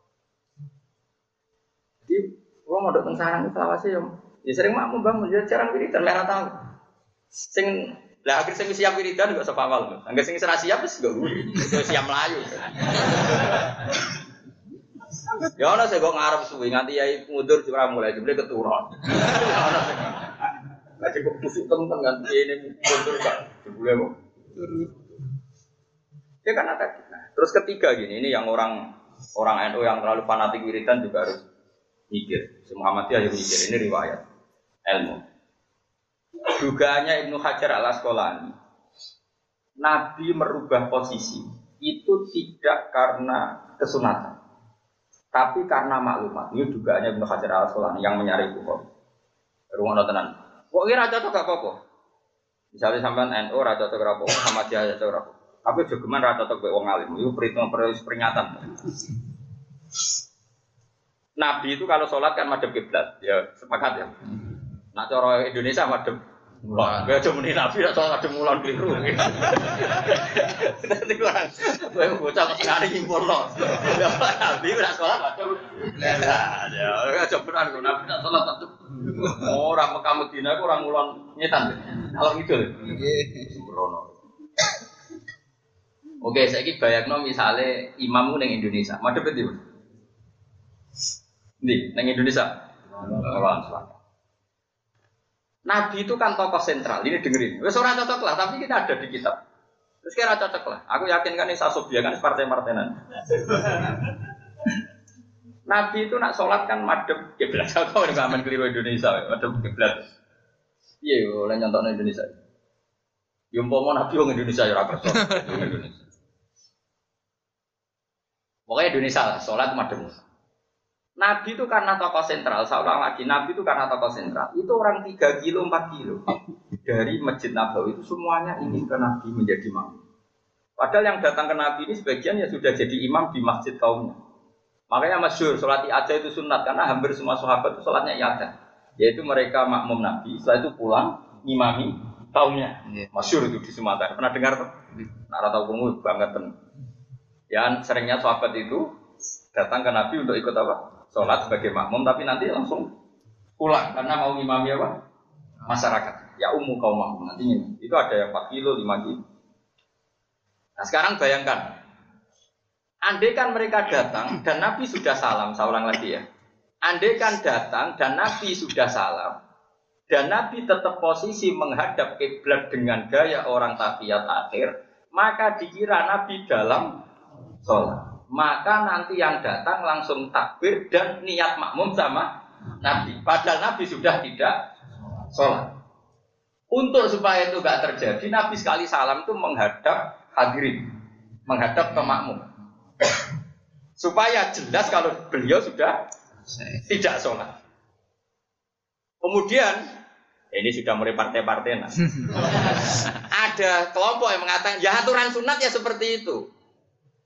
Jadi wong mondok teng sarang selawase yo ya sering makmum bangun ya jarang wiridan merah tahu. Sing lah akhir sing siap wiridan kok sapa awal. Angger sing ora siap wis gak wiri. Wis siap mlayu. Ya ana sing kok ngarep suwi nganti yai mundur ora mulai jebule keturun. Ya ana sing. Lah kok tusuk temen nganti ini mundur Pak. Jebule kok. Ya kan ada. Nah, terus ketiga gini, ini yang orang orang N U yang terlalu fanatik wiridan juga harus mikir. Muhammadiyah yang mikir, ini riwayat ilmu. Dugaannya Ibnu Hajar al-Asqalani, Nabi merubah posisi itu tidak karena kesunatan, tapi karena maklumat. Ini dugaannya Ibnu Hajar al-Asqalani yang menyari Bukhari. Rumah tenan. Kok kira cocok gak apa-apa? Misalnya sampean N U ra cocok ra apa, sama dia cocok ra apa. Tapi jogeman ra cocok mek wong alim. Iku peringatan. Nabi itu kalau sholat kan madhep kiblat, ya sepakat ya. Nak cara Indonesia madhep mulon. Gak cuma nih Nabi nak sholat madhep mulon keliru. Nanti orang, gue bocah sekali nyimpul loh. Nabi nak sholat madhep. Ya, gak cuma nih Nabi nak sholat madhep. Orang Mekah Madinah orang mulon nyetan. Kalau gitu, sembrono. Oke, saya kira bayangno misalnya imam neng Indonesia, madhep itu. Nih, neng Indonesia. Nabi itu kan tokoh sentral. Ini dengerin. Wes ora cocok lah, tapi kita ada di kitab. Terus kira cocok lah. Aku yakin kan ini Sasobia kan partai-partenan. Nabi itu nak sholat kan madhep kiblat. Kau ini ngamen keliru Indonesia, madhep kiblat. Iya, oleh nyontok Indonesia. Yumpama Nabi orang Indonesia ya rakyat Indonesia. Pokoknya Indonesia lah, sholat madhep. Nabi itu karena tokoh sentral, saya ulang lagi, Nabi itu karena tokoh sentral. Itu orang tiga kilo, empat kilo dari Masjid Nabawi itu semuanya ingin ke Nabi menjadi imam. Padahal yang datang ke Nabi ini sebagian ya sudah jadi imam di masjid kaumnya. Makanya masyhur sholat i'adah itu sunat karena hampir semua sahabat itu sholatnya i'adah. Yaitu mereka makmum Nabi, setelah itu pulang ngimami kaumnya. Masyhur itu di Sumatera. Pernah dengar tuh? Nah, rata umum banget tuh. Ya seringnya sahabat itu datang ke Nabi untuk ikut apa? Sholat sebagai makmum, tapi nanti langsung pulang karena mau ngimami apa? Masyarakat. Ya umum kaum makmum nantinya. Itu ada yang empat kilo, lima kilo. Nah sekarang bayangkan, andai kan mereka datang dan Nabi sudah salam, saya ulang lagi ya. Andai kan datang dan Nabi sudah salam, dan Nabi tetap posisi menghadap kiblat dengan gaya orang tahiyat akhir, maka dikira Nabi dalam sholat. Maka nanti yang datang langsung takbir dan niat makmum sama Nabi. Padahal Nabi sudah tidak sholat. Untuk supaya itu tidak terjadi, Nabi sekali salam itu menghadap hadirin, menghadap ke makmum. Supaya jelas kalau beliau sudah tidak sholat. Kemudian, ini sudah mulai partai-partai. Nah. Ada kelompok yang mengatakan, ya aturan sunat ya seperti itu.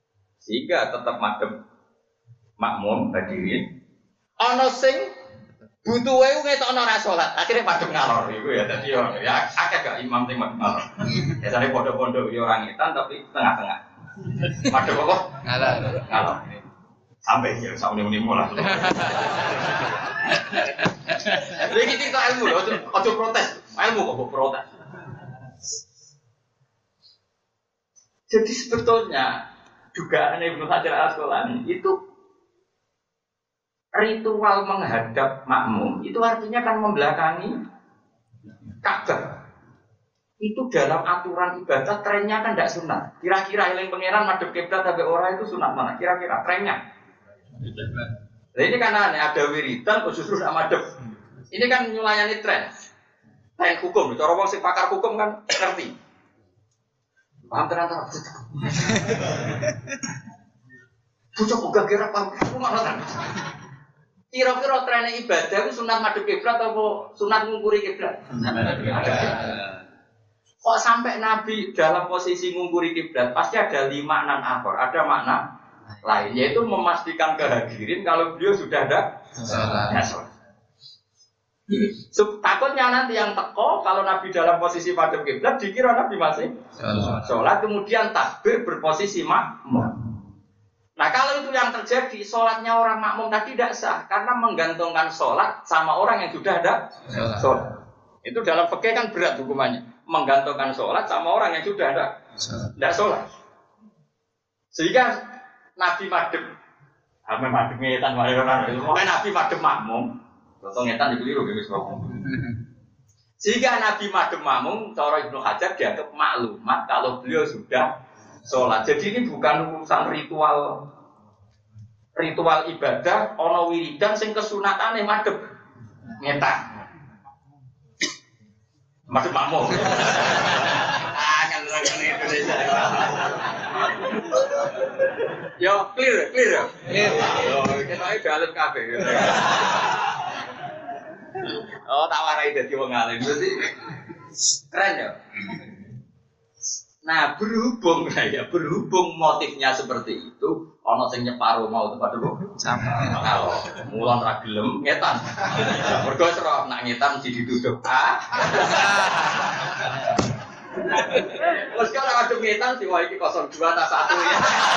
Sehingga tetap madhep makmum hadirin. Ono sing Butuhe ku ngetokno ora salat, akhire padha ngalor iku ya dadi yo ya akeh gak imam sing ngalor. Biasane pondok-pondok yo ora ngetan tapi tengah-tengah. Padha apa? Ngalor. Ngalor. Sampai ya sakmene-mene lah. Lha iki cerita ilmu lho, aja protes. Ilmu kok protes. Jadi sebetulnya dugaan Ibnu Hajar Al-Asqalani itu ritual menghadap makmum itu artinya kan membelakangi Ka'bah. Itu dalam aturan ibadah trennya kan tidak sunat. Kira-kira eling pangeran madhep kiblat sampai ora itu sunat mana? Kira-kira trennya. Nah ini kan aneh, ada wiridan kok justru tidak madhep. Ini kan nyulayani tren. Tren hukum. Cara wong sing pakar hukum kan ngerti. Paham tenan ta? Bocah kok kira paham. Kira-kira trennya ibadah itu sunat madhep kiblat atau sunat ngungkuri kiblat? Kok sampai Nabi dalam posisi ngungkuri kiblat pasti ada lima makna akhir, ada makna lain yaitu memastikan kehadirin kalau beliau sudah ada sholat. Takutnya nanti yang teko kalau Nabi dalam posisi madhep kiblat dikira Nabi masih sholat, kemudian takbir berposisi makmum. Nah kalau itu yang terjadi, sholatnya orang makmum tadi tidak sah karena menggantungkan sholat sama orang yang sudah ada sholat. Itu dalam fikih kan berat hukumannya, menggantungkan sholat sama orang yang sudah ada tidak sholat. Sehingga Nabi madhep, Nabi madhep ngetan orang itu, makanya Nabi madhep makmum, atau ngetan dikeliru gitu makmum. Sehingga Nabi madhep makmum, cara Ibnu Hajar dianggap maklumat kalau beliau sudah sholat. Jadi ini bukan urusan ritual ritual ibadah ana wiridan sing kesunatane madhep ngetan. Madhep makmum. Ah kan orang Indonesia. Yo clear, clear ya. Yo ketoke dalem kabeh. Oh tak warai dadi wong alim. Berarti keren ya. Nah berhubung ya berhubung motifnya seperti itu, ono sing nyeparo mau tempat dulu sama. Kalau mulan ra gelem ngetan. Mergo sira nak ngetan mesti dituduh. Ah. Wes kalau ada ngetan sih wah iki nol dua tak satu ya.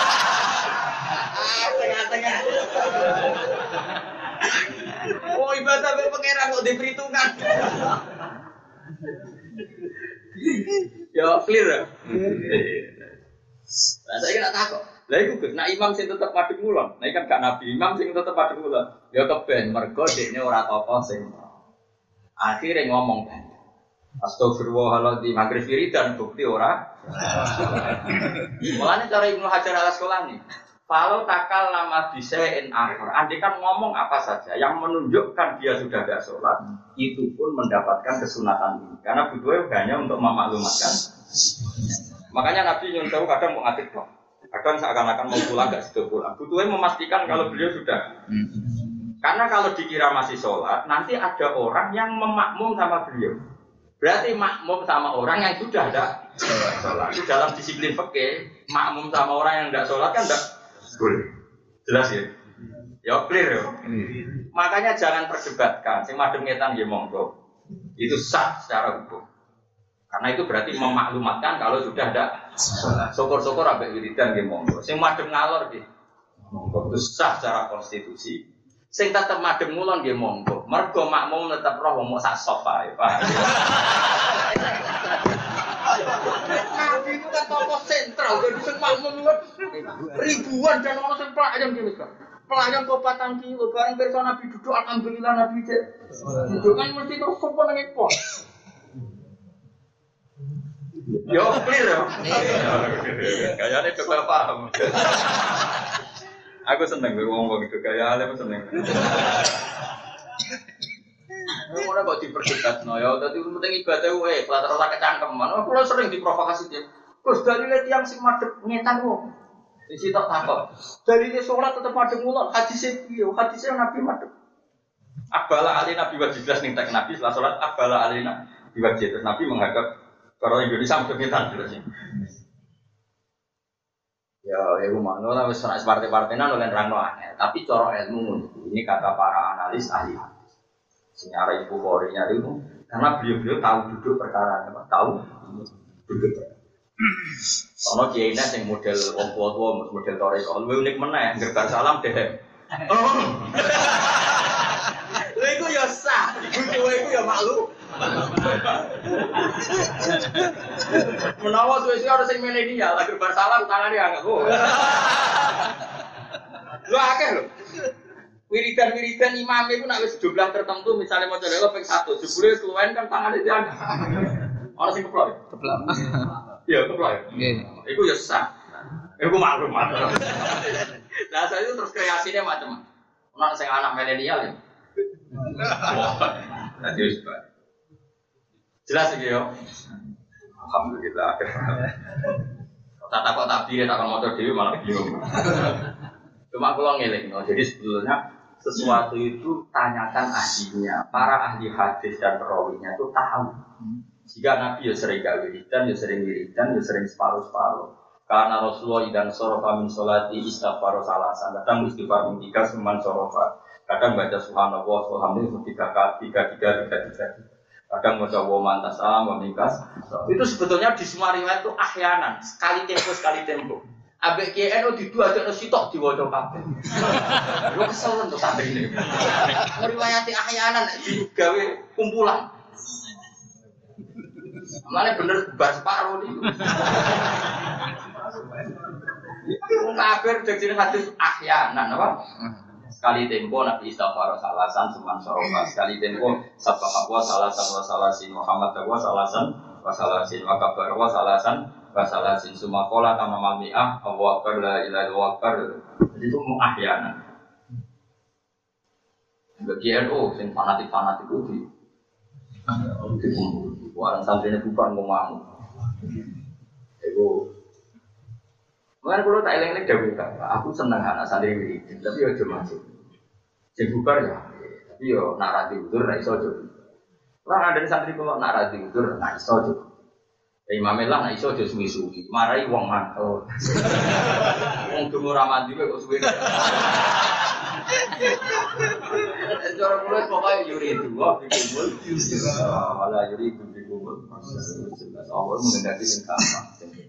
Ah tengah-tengah. Oh ibadah be pangeran kok diperhitungkan. Ya clear ya. Nah saya kira takut. Lah iku Gus, nek imam sing tetep madhep ngulon, nek kan gak nabi imam sing tetep madhep ngulon. Ya keben mergo dekne ora tokoh sing. Akhire ngomong ben. Astagfirullahaladzim, maghrib wiridan bukti ora. Mulane cara Ibnu Hajar Al-Asqalani, kalau takal nama bisain akhir, andai kan ngomong apa saja yang menunjukkan dia sudah ada sholat, itu pun mendapatkan kesunatan ini. Karena butuhnya hanya untuk memaklumatkan. Makanya Nabi nyuruh kadang mau ngatik dong, kadang seakan-akan mau pulang gak sudah pulang. Butuhnya memastikan kalau beliau sudah. Karena kalau dikira masih sholat, nanti ada orang yang memakmum sama beliau. Berarti makmum sama orang yang sudah ada sholat. Itu dalam disiplin fikih, makmum sama orang yang tidak sholat kan tidak boleh. Jelas ya? Ya clear ya. Makanya jangan perdebatkan. Sing madhep ngetan nggih monggo. Itu sah secara hukum. Karena itu berarti memaklumatkan kalau sudah ada sholat. Syukur-syukur ambek wiridan nggih monggo. Sing madhep ngalor nggih monggo. Itu sah secara konstitusi. Sing tetep madhep ngulon nggih monggo. Mergo makmum tetep roh wong sak sofa ya, Pak. Nabi itu kan tokoh sentral, jadi sing makmum ribuan dan orang sing pelayan gini kan. Pelayan kok patang kilo, bareng pirsa Nabi duduk alhamdulillah Nabi cek. Duduk kan mesti terus sopan nang ekor. Yo clear ya. Kayane coba paham. Aku seneng ngomong gitu kaya ale seneng. Ora kok diperdebatno ya, dadi penting ibadah wae, latar ora kecangkeman. Kulo sering diprovokasi dia. Gus dalile tiyang sing madhep ngetan wong. Disi tok takok. Dalile salat tetep madhep ngulon, hadise piye? Hadise Nabi madhep. Abala alina biwajiblas ning tek Nabi setelah salat abala alina biwajib. Terus Nabi menghadap karo Indonesia madhep ngetan terus. Ya, ya rumah, no, tapi partai-partainya nolak rangno aneh. Tapi cara ilmu ini kata para analis ahli. Senyara ibu korinya itu karena beliau-beliau tahu duduk perkara apa? Tahu duduk. Ono kiai nek sing model wong tua-tua model toreko, luwih unik meneh, gerbar salam deh. Oh. Lha iku ya sah, iku iku ya maklum. Menawa suwe-suwe ora sing milenial, gerbar salam tangane angel. Lho akeh lho. Wiridan-wiridan imam itu nak wis jumlah tertentu misalnya mau coba ping satu, jebule keluwen kan tangane diang. Ora sing keplok. Keplok. Iya, keplok. Nggih. Iku ya sah. Iku maklumat. Nah, saya itu terus kreasinya macam-macam. Ono sing anak milenial ya. Nah, jelas. Jelas iki yo. Alhamdulillah. Tak takut takbir tak kon maca dhewe malah bingung. Cuma kalau ngeling, jadi sebetulnya sesuatu itu tanyakan ahlinya. Para ahli hadis dan perawinya itu tahu. Jika Nabi ya sering gak wiridan, ya sering wiridan, ya sering separuh-separuh. Karena Rasulullah idan sorofa min sholati istighfar salasan. Kadang istighfar min tiga seman sorofa. Kadang baca subhanallah, alhamdulillah tiga kali, tiga tiga tiga tiga. Kadang baca wa mantas salam, wa mingkas. Itu sebetulnya di semua riwayat itu ahyanan, sekali tempo sekali tempo. Ambek K N O di dua ada sitok diwaca kabeh. Lo kesel untuk santri ini. Meriwayati ahyanan digawe kumpulan. Mane bener bar separo niku. Wong kafir dadi hadis ahyanan apa? Sekali tempo Nabi istighfar salasan seman sorofa. Sekali tempo sabah wa salasan wa salasin Muhammad wa salasan wa salasin wa kabar wa salasan wasalasin sumakola kama malmi'ah Allahu akbar la ilaha illallah akbar. Jadi itu muahyana. Bagi N U sing fanatik-fanatik itu di orang santrinya bukan ngomong. Itu mana kalau tak eleng-eleng dawuh aku seneng anak santri ini, tapi yo aja masuk. Sing bubar ya, tapi yo nak ra diutur ra iso aja. Lah ada santri kok nak ra diutur ra iso aja. Imam lah nak iso aja suwi-suwi, marai wong mantel. Wong dungo ra mandi kok suwi. Cara mulai pokoke yuri itu, wah dikumpul. Wala yuri itu dikumpul. Awal mengendaki sing gampang.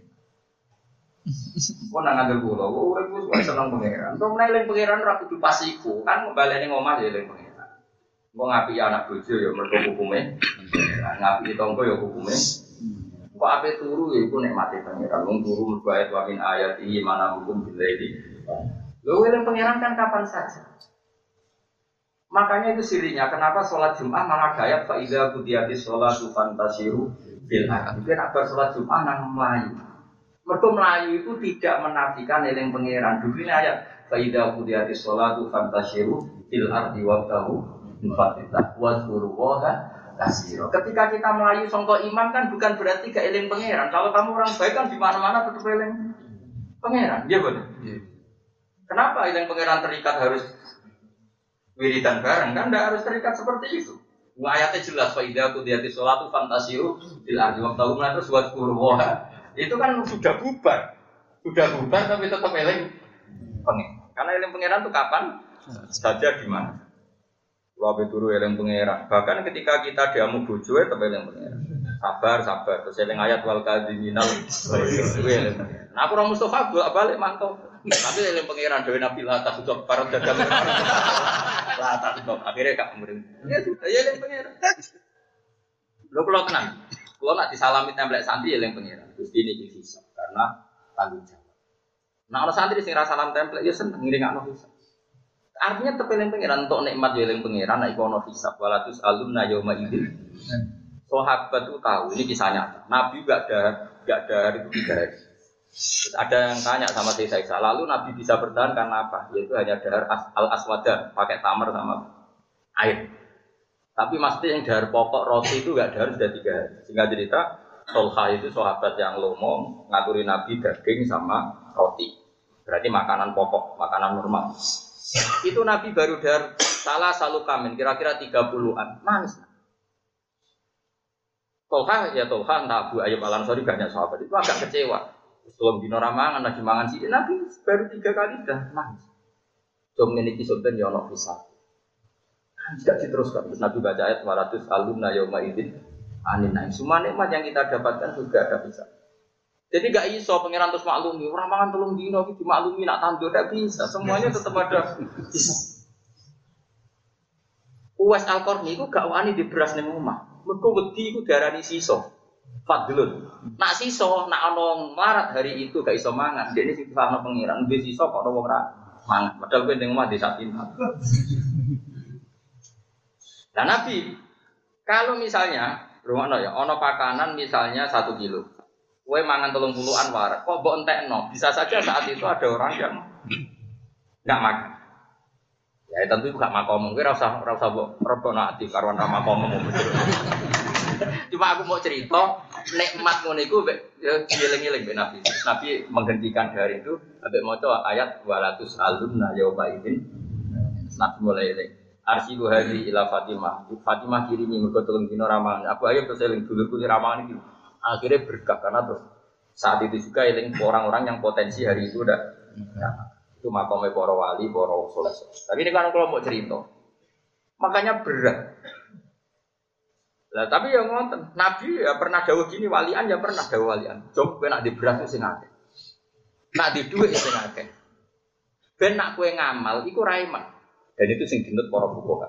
Kok nang ngandel kula, kok urip wis kok seneng pangeran. Entuk menawa eling pangeran ora kudu pas iku, kan mbaleni ngomah ya eling pangeran. Engko ngapi anak bojo ya mergo hukume. Ngapi tangga ya hukume. Kok ape turu ya iku nikmate pangeran. Wong turu mergo ayat wa min ayati mana hukum billahi. Lho eling pangeran kan kapan saja. Makanya itu sirinya kenapa sholat Jumat malah dayat fa idza qudiyatis sholatu fantasiru bil ardi. Itu nak sholat Jumat nang Melayu. Mergo Melayu itu tidak menafikan eling pangeran. Dulu ini ayat fa idza qudiyatis sholatu fantasiru bil ardi wabtahu min fadlillah wazkurullaha katsira. Ketika kita Melayu sangka iman kan bukan berarti gak eling pangeran. Kalau kamu orang baik kan di mana-mana tetap eling pangeran. Iya betul. Kenapa eling pangeran terikat harus wiridan bareng kan tidak harus terikat seperti itu. Ayatnya jelas fa idza qudiyatis sholatu fantasiru bil ardi wabtahu min terus wazkurullaha. Itu kan sudah bubar. Sudah bubar tapi tetap eling pangeran. Karena eling pangeran itu kapan saja di mana. Wabe turu eling pangeran. Bahkan ketika kita diamu bojo tetap eling pangeran. Sabar, sabar. Terus eling ayat wal kadhiminal. Nah aku ora Mustofa bolak-balik mantau. Tapi eling pangeran dhewe Nabi lah tak sudah parot dagang. Lah tak sudah akhirnya gak murid. Ya sudah ya eling pangeran. Lho kula tenang. Kula nak disalami templek santri eling pangeran. Gusti niki hisab karena tanggung jawab. Nah ana santri sing ra salam templek ya seneng ngiringakno hisab. Artinya tepeling pangeran untuk nikmat ya eling pangeran nek iku ana hisab walatus alumna yauma idzin. Sahabat itu tahu ini kisah nyata. Nabi enggak ada enggak ada itu tiga hari. Terus ada yang tanya sama saya Isa, lalu Nabi bisa bertahan karena apa? Yaitu hanya dahar al-aswada, pakai tamar sama air. Tapi mesti yang dahar pokok roti itu enggak dahar sudah tiga hari. Sehingga cerita, Tolha itu sahabat yang lomo ngaturi Nabi daging sama roti. Berarti makanan pokok, makanan normal. Itu Nabi baru dahar salah salu kamin, kira-kira tiga puluhan. Nangis. Tolha ya Tolha, entah Abu Ayyub Al-Ansari banyak sahabat itu agak kecewa. Sebelum dino ramangan lagi mangan sih, Nabi baru tiga kali dah nangis. Jom ini kisah dan jono kisah. Tidak diteruskan. Terus Nabi baca ayat dua ratus alumna yauma idzin anin naim. Semua nikmat yang kita dapatkan juga ada bisa. Jadi gak iso pangeran terus maklumi. Orang mangan telung dino iki dimaklumi nak tandur tidak bisa. Semuanya tetap ada bisa. Uwais Al-Qarni iku gak wani di beras ning omah. Mergo wedi iku diarani sisa. Fadlun. Nak sisa nak ana marat hari itu gak iso mangan. Dene sing disana pangeran ndek sisa kok ana wong ra mangan. Padahal kowe ning omah desa pintar. Nah Nabi, kalau misalnya, rumahno ya, ono pakanan misalnya satu kilo, kue mangan telung puluhan warak, kok mbok entekno? Bisa saja saat itu ada orang yang nggak makan. Ya tentu juga makom, kue rasa rasa mbok rebono ati karuan ra makom. Cuma aku mau cerita, nikmat ngono iku dieling-eling ben Nabi. Nabi menghentikan hari itu, ambek maca ayat dua ratus alumna yauma idzin. Nabi mulai eling. Arsilu hadi ila Fatimah. Fatimah kirimi mergo telung dino ramangan. Abu Ayyub terus eling dulurku di ramangan iki. Akhirnya berkah karena terus saat itu juga eling orang-orang yang potensi hari itu udah ya, itu makomnya para wali, para saleh. Tapi ini kan kalau mau cerita. Makanya berat. Lah tapi ya ngoten, Nabi ya pernah dawuh gini, walian ya pernah dawuh walian. Jom kowe nak di beras sing akeh. Nak di dhuwit sing akeh. Ben nak kowe ngamal iku ra iman. Dan itu sing dinut para fuqaha.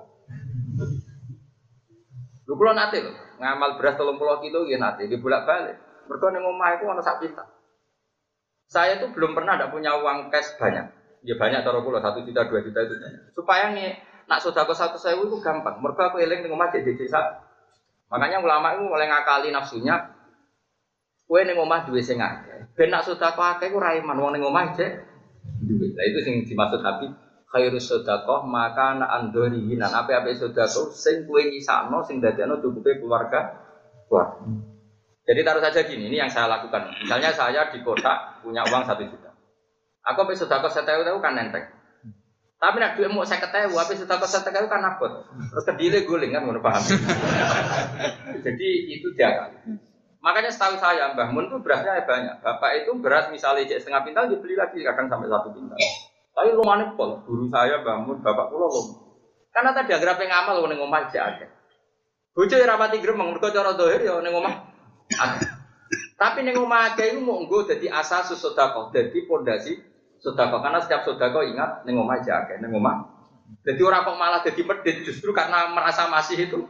Lho kula nate lho, ngamal beras telung puluh kilo nggih nate, nggih bolak-balik. Mergo ning omah iku ana sak pinta. Saya tuh belum pernah ndak punya uang cash banyak. Ya banyak cara kula satu juta, dua juta itu. Supaya nih nak sedekah seratus ribu itu gampang. Mergo aku eling ning omah jadi desa. Makanya ulama itu mulai ngakali nafsunya. Kowe ning omah duwe sing akeh. Ben nak sedekah akeh ku ra iman wong ning omah cek duwe. Lah itu sing dimaksud Habib khairus sedekah maka ana andori nan ape-ape sedekah sing kowe nyisakno sing dadekno cukupe keluarga kuat. Jadi taruh saja gini, ini yang saya lakukan. Misalnya saya di kota punya uang satu juta. Aku ape sedekah satu ribu kan enteng. Tapi nek dhuwit muk seket ribu, ape sedekah seket ribu kan abot. Terus kedile guling kan ngono paham. Jadi itu dia. Makanya setahu saya Mbah Mun itu berasnya banyak. Bapak itu beras misalnya setengah pintal dibeli lagi kadang sampai satu pintal. Tapi lumane pol, guru saya bangun, bapak kula lho. Karena tadi anggere ape ngamal ning omah aja akeh. Bojo ora pati gremeng mergo cara zahir ya ning omah akeh. Tapi ning omah akeh iku mung nggo dadi asas sedekah, dadi pondasi sedekah. Karena setiap sedekah ingat ning omah aja akeh, ning omah. Jadi ora kok malah dadi medhit justru karena merasa masih itu.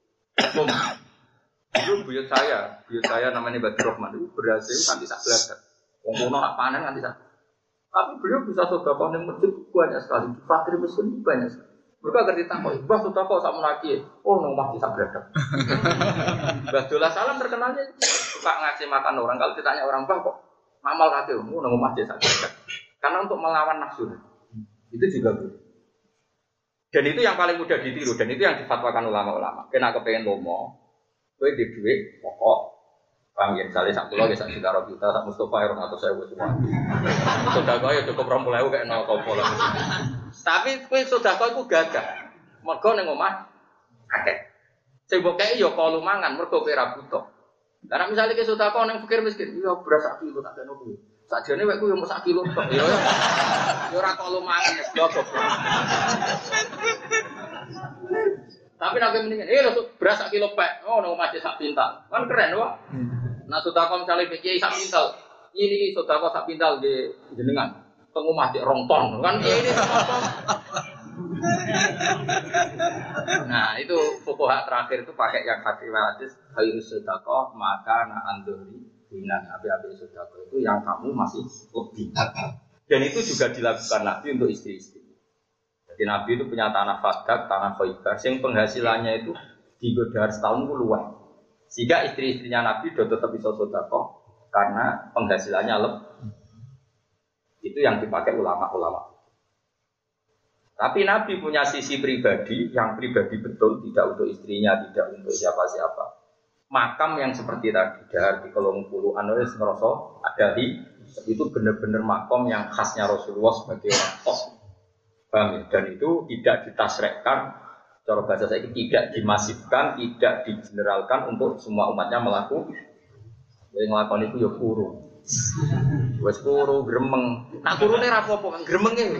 Dulu buyut saya, buyut saya namanya Badr Rahman itu berhasil kanthi sak bladak. Wong kono nak panen kanthi sak. Tapi beliau bisa sedekah ning masjid banyak sekali. Fakir miskin banyak sekali. Mereka ngerti takok, "Mbah sedekah sak menaki." Oh, nang omah sak bladak. Mbah Dola Salam terkenalnya suka ngasih makan orang. Kalau ditanya orang, "Mbah kok ngamal kate?" Oh, nang omah sak bladak. Karena untuk melawan nafsu. Itu juga boleh. Dan itu yang paling mudah ditiru dan itu yang difatwakan ulama-ulama. Kena kepengen lomo, kowe di dhuwit pokok paham ya, misalnya sak pulau, sak juta rupiah, sak Mustafa, orang atau saya semua. Sodako ya cukup rompulau aku kayak nol kompol. Tapi kue sodako aku gagah. Mergo neng omah, akeh. Sing mbok kei ya kalau mangan, mergo kowe ra butuh. Karena misalnya ke sodako neng fakir miskin, ya beras sak kilo tak kena kowe. Sakjane wekku yo sak kilo tok. Ya ya ora kalau mangan ya goblok. Tapi nek mendingan, eh beras sak kilo pek. Oh nang omah sak pintal. Kan keren wae. Nah sudah kau misalnya pikir sak pintal, ini sudah kau sak pintal di jenengan, tengok mati rongton, kan ini. Nah itu fuqaha terakhir itu pakai yang hadis hadis khairus sedekah maka na andori binan api-api sedekah itu yang kamu masih lebih. Dan itu juga dilakukan Nabi untuk istri-istri. Jadi Nabi itu punya tanah Fadak, tanah Khaybar, yang penghasilannya itu digodar setahun puluhan. Sehingga istri-istrinya Nabi sudah tetap bisa sedekah karena penghasilannya lebih. Itu yang dipakai ulama-ulama. Tapi Nabi punya sisi pribadi yang pribadi betul, tidak untuk istrinya, tidak untuk siapa-siapa. Makam yang seperti tadi, dahar di kolong puluh anulis ngerosok ada di itu benar-benar makam yang khasnya Rasulullah sebagai orang tos. Dan itu tidak ditasrekkan. Cara bahasa saya tidak dimasifkan, tidak digeneralkan untuk semua umatnya melakukan. Yang melakukan itu ya kurung. Wes kuru gremeng. Nak kurune ra apa-apa kan gremenge.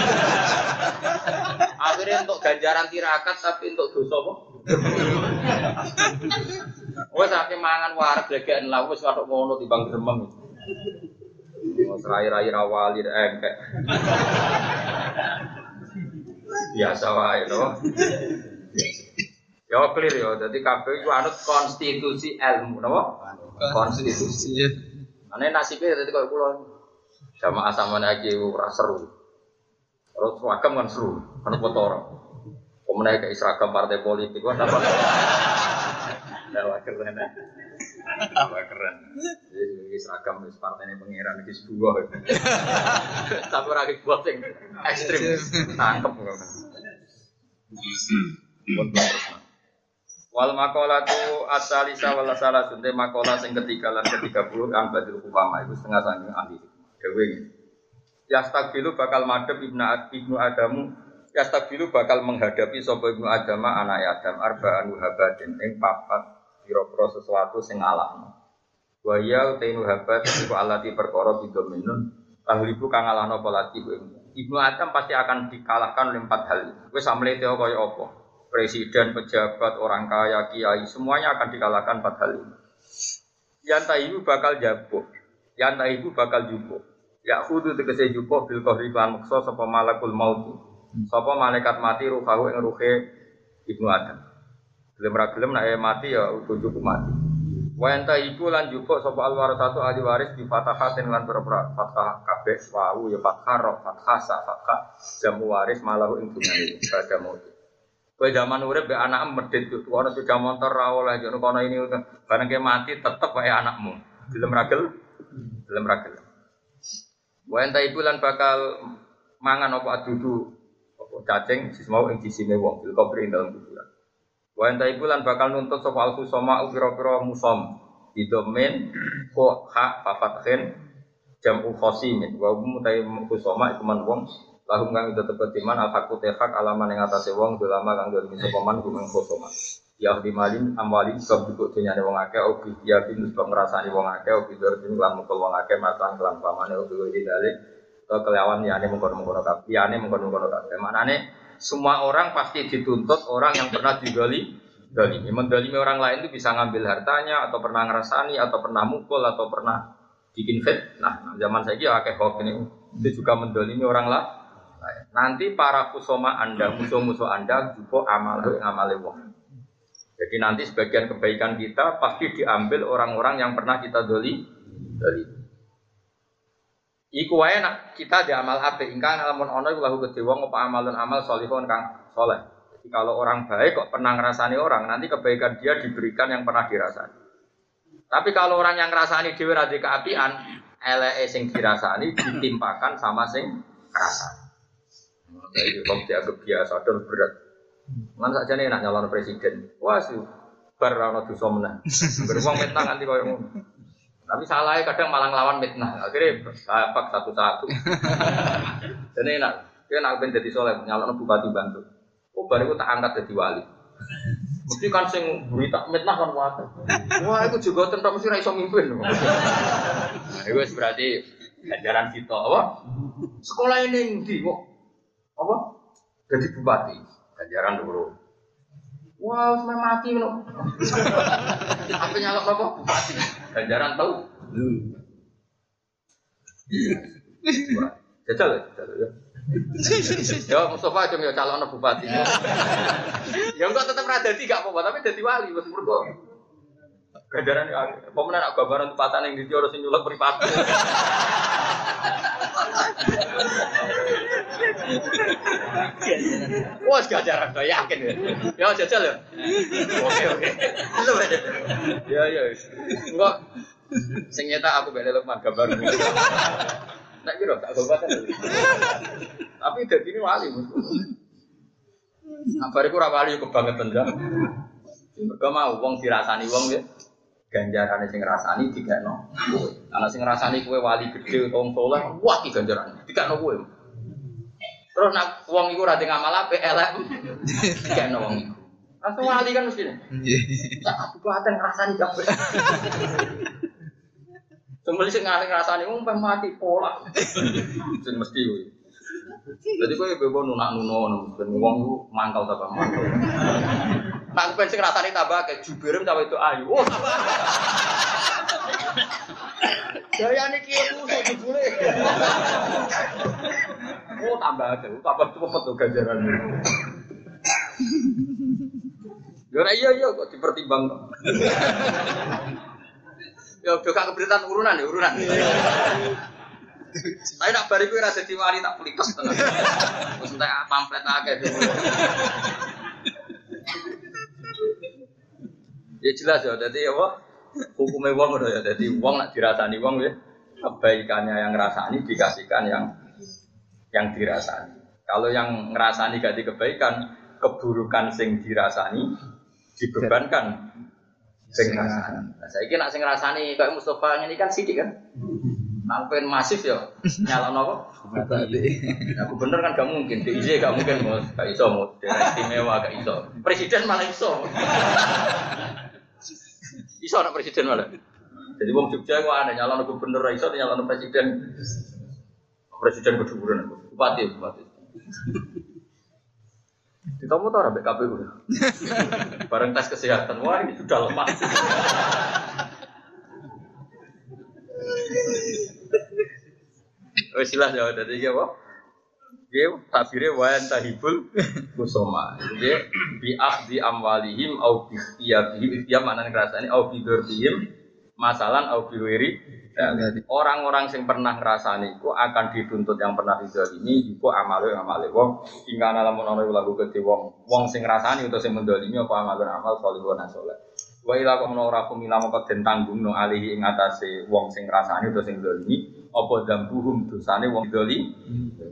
Akhirnya untuk ganjaran tirakat tapi untuk dosa apa? Wes akeh mangan wareg glegeken lah wis kok ngono timbang gremeng. Wes rai-rai rawali engkek. Biasa wae to. Ya clear ya, dadi kabeh iku anut konstitusi ilmu napa? Konstitusi. Ane nasibe dadi koyo kula. Jamaah sampean iki ora seru. Terus seragam kan seru, kan foto ora. Pemenang kayak seragam partai politik wah dapat. Dapat keren. Dapat keren. Jadi seragam wis partene pangeran iki sebuah. Tapi ora iki buat sing ekstrem. Tangkep kok. Wal maqalatu as-salisa wal salasun te maqalah sing ketiga lan ketiga puluh an badul upama itu setengah saking ahli dewe. Yastaqilu bakal madhep ibnu ibnu Adamu yastaqilu bakal menghadapi sapa ibnu Adama anak Adam arba'an habadin ing papat pira-pira sesuatu sing alahno. Wa ya tainu habat iku alati perkara bidominun tahlibu kang alahno polati ibnu Adam pasti akan dikalahkan oleh empat hal. Wis amlete kaya apa? Presiden, pejabat, orang kaya, kiai, semuanya akan dikalahkan empat hal ini. Yantahibu bakal jabuk, yantahibu bakal jubuk. Ya khudu tegese jubuk bil kohri lan muksa sapa malakul maut. Sapa malaikat mati ruhahu ing ruhe ibnu Adam. Gelem ra gelem nek mati ya ujug mati. Wa yantahibu lan jubuk sapa alwarasatu ahli waris di fatahatin lan berapa fathah kabeh wau ya fathah ra fathah sa fathah jamu waris malahu ing dunyane pada maut. Kowe zaman urip be anak medhit tuh ana sepeda motor ra oleh jono kono ini bareng ke mati tetep wae anakmu. Gelem ragel, gelem ragel. Wa enta ibu lan bakal mangan apa adudu apa cacing sismau ing sisine wong bil kubri ing dalem kuburan. Wa enta ibu lan bakal nuntut sapa al-khusama pira-pira musom idomen ko hak fafathin jamu khosimin wa mutai khusama iku man wong lahum kang tetep timan al-haqu tehak alaman ing atase wong ulama kang dadi sopaman gumeng khosoma ya di malin amwali sebab duduk dunyane wong akeh obi ya bin sebab ngrasani wong akeh obi dordin lan mukul wong akeh matan kelan pamane obi didale to kelawan liyane mengkono-mengkono kabeh liyane mengkono-mengkono kabeh maknane semua orang pasti dituntut orang yang pernah digali dalimi mendalimi orang lain itu bisa ngambil hartanya atau pernah ngrasani atau pernah mukul atau pernah bikin fitnah. Nah, zaman saiki akeh hoax ini itu juga mendalimi orang lah. Nanti para kusoma Anda, musuh-musuh Anda juga amal amale wong. Jadi nanti sebagian kebaikan kita pasti diambil orang-orang yang pernah kita doli doli. Iku wae nak kita di amal apik ingkang lamun ana iku lahu gedhe wong apa amalun amal sholihun kang saleh. Jadi kalau orang baik kok pernah ngrasani orang, nanti kebaikan dia diberikan yang pernah dirasani. Tapi kalau orang yang ngrasani dhewe ra di keapian, eleke sing dirasani ditimpakan sama sing ngrasani. Jadi kalau dianggap biasa dan berat, mana saja nih nak nyalon presiden, wah sih berono dosa menang, beruang mitnah nanti kau yang, tapi salahnya kadang malah ngelawan mitnah, akhirnya bapak satu-satu. Jadi nak, dia nak ben jadi soleh, nyalon bupati bantu, oh baru tak angkat jadi wali. Mesti kan sing berita mitnah kan wae. Wah itu juga tentang mesti ra iso mimpin. Nah, itu berarti ajaran kita apa? Sekolah ini ndi kok apa? Jadi bupati, ganjaran dulu. Wah, wow, sampai mati loh. Apa nyalok apa? Bupati, ganjaran tahu. Jajal, jajal ya. Ya Mustafa aja ya calon bupati. Ya enggak tetap rada tiga apa, tapi jadi wali wis murko. Ganjaran ya, pemenang nak gambaran tempatan yang di Tioro sing nyulek mripate. Wah, ganjaran to yakin ya. Ya jajal ya. Oke oke. Ya ya. Enggak sing nyetak aku beli Lukman gambar. Nek kira tak gobatan. Tapi dadi ini wali. Abariku ora wali kebangetan ya. Mergo mau wong dirasani wong ya. Ganjarane sing ngrasani dikekno kowe. Ana sing ngrasani kowe wali gedhe wong saleh, wah iki ganjarane dikekno kowe. Terus nek wong iku ora ngamal apik elek dikekno wong iku. Langsung wali kan mesti. Nggih. Tak kabupaten ngrasani kabeh. Sembeli sing ngrasani wong peh mati pola. Sing mesti kuwi. Jadi kowe bebo nunak-nuno ben wong ku mangkal ta mangkal. Nak ben sing ngrasani tambah ke jubirem ta itu ayu. Oh, tambah. Daya niki ku jebule. Oh, tambah ke. Tambah cepet to ganjaran. Yo iya iya kok dipertimbang. Yo udah gak keberitaan urunan ya urunan. Tapi nak bariku ora dadi wali tak pelites tenan. Wis entek pamflet akeh. Ya jelas ya dadi apa? Hukume wong ngono ya dadi wong nak dirasani wong ya kebaikannya yang ngrasani dikasihkan yang yang dirasani. Kalau yang ngrasani gak di kebaikan, keburukan sing dirasani dibebankan sing ngrasani. Nah, saiki nak sing ngrasani kaya Mustofa ngene kan sithik kan. Nampen masif ya, nyalon apa? Nah, gubernur kan gak mungkin, D I Z gak mungkin, Mas. Gak iso, Mas. Daerah istimewa gak iso. Presiden malah iso. Iso anak presiden malah. Jadi wong Jogja kok ana nyalon gubernur iso, nyalon presiden. Presiden keduduran, bupati, bupati. Ditomo ta ora mbek K P U. Bareng tes kesehatan, wah ini sudah lemah. Wes jelas ya dadi iki apa? Nggih, tabire wa antahibul kusoma. Nggih, bi akhdhi amwalihim au bi iyabihim, iya maknane ngrasani au bi dzurrihim masalan au bi wiri. Orang-orang yang pernah ngrasani iku akan dituntut yang pernah dizalimi iku amale amale wong ingkana lamun ana lagu gede wong wong sing ngrasani utawa sing mendolimi apa amal amal salihun saleh. Wa ila kum ora kum ila moko den tanggungno alihi ing atase wong sing ngrasani utawa sing dolimi apa dambuhum dosane wong dolimi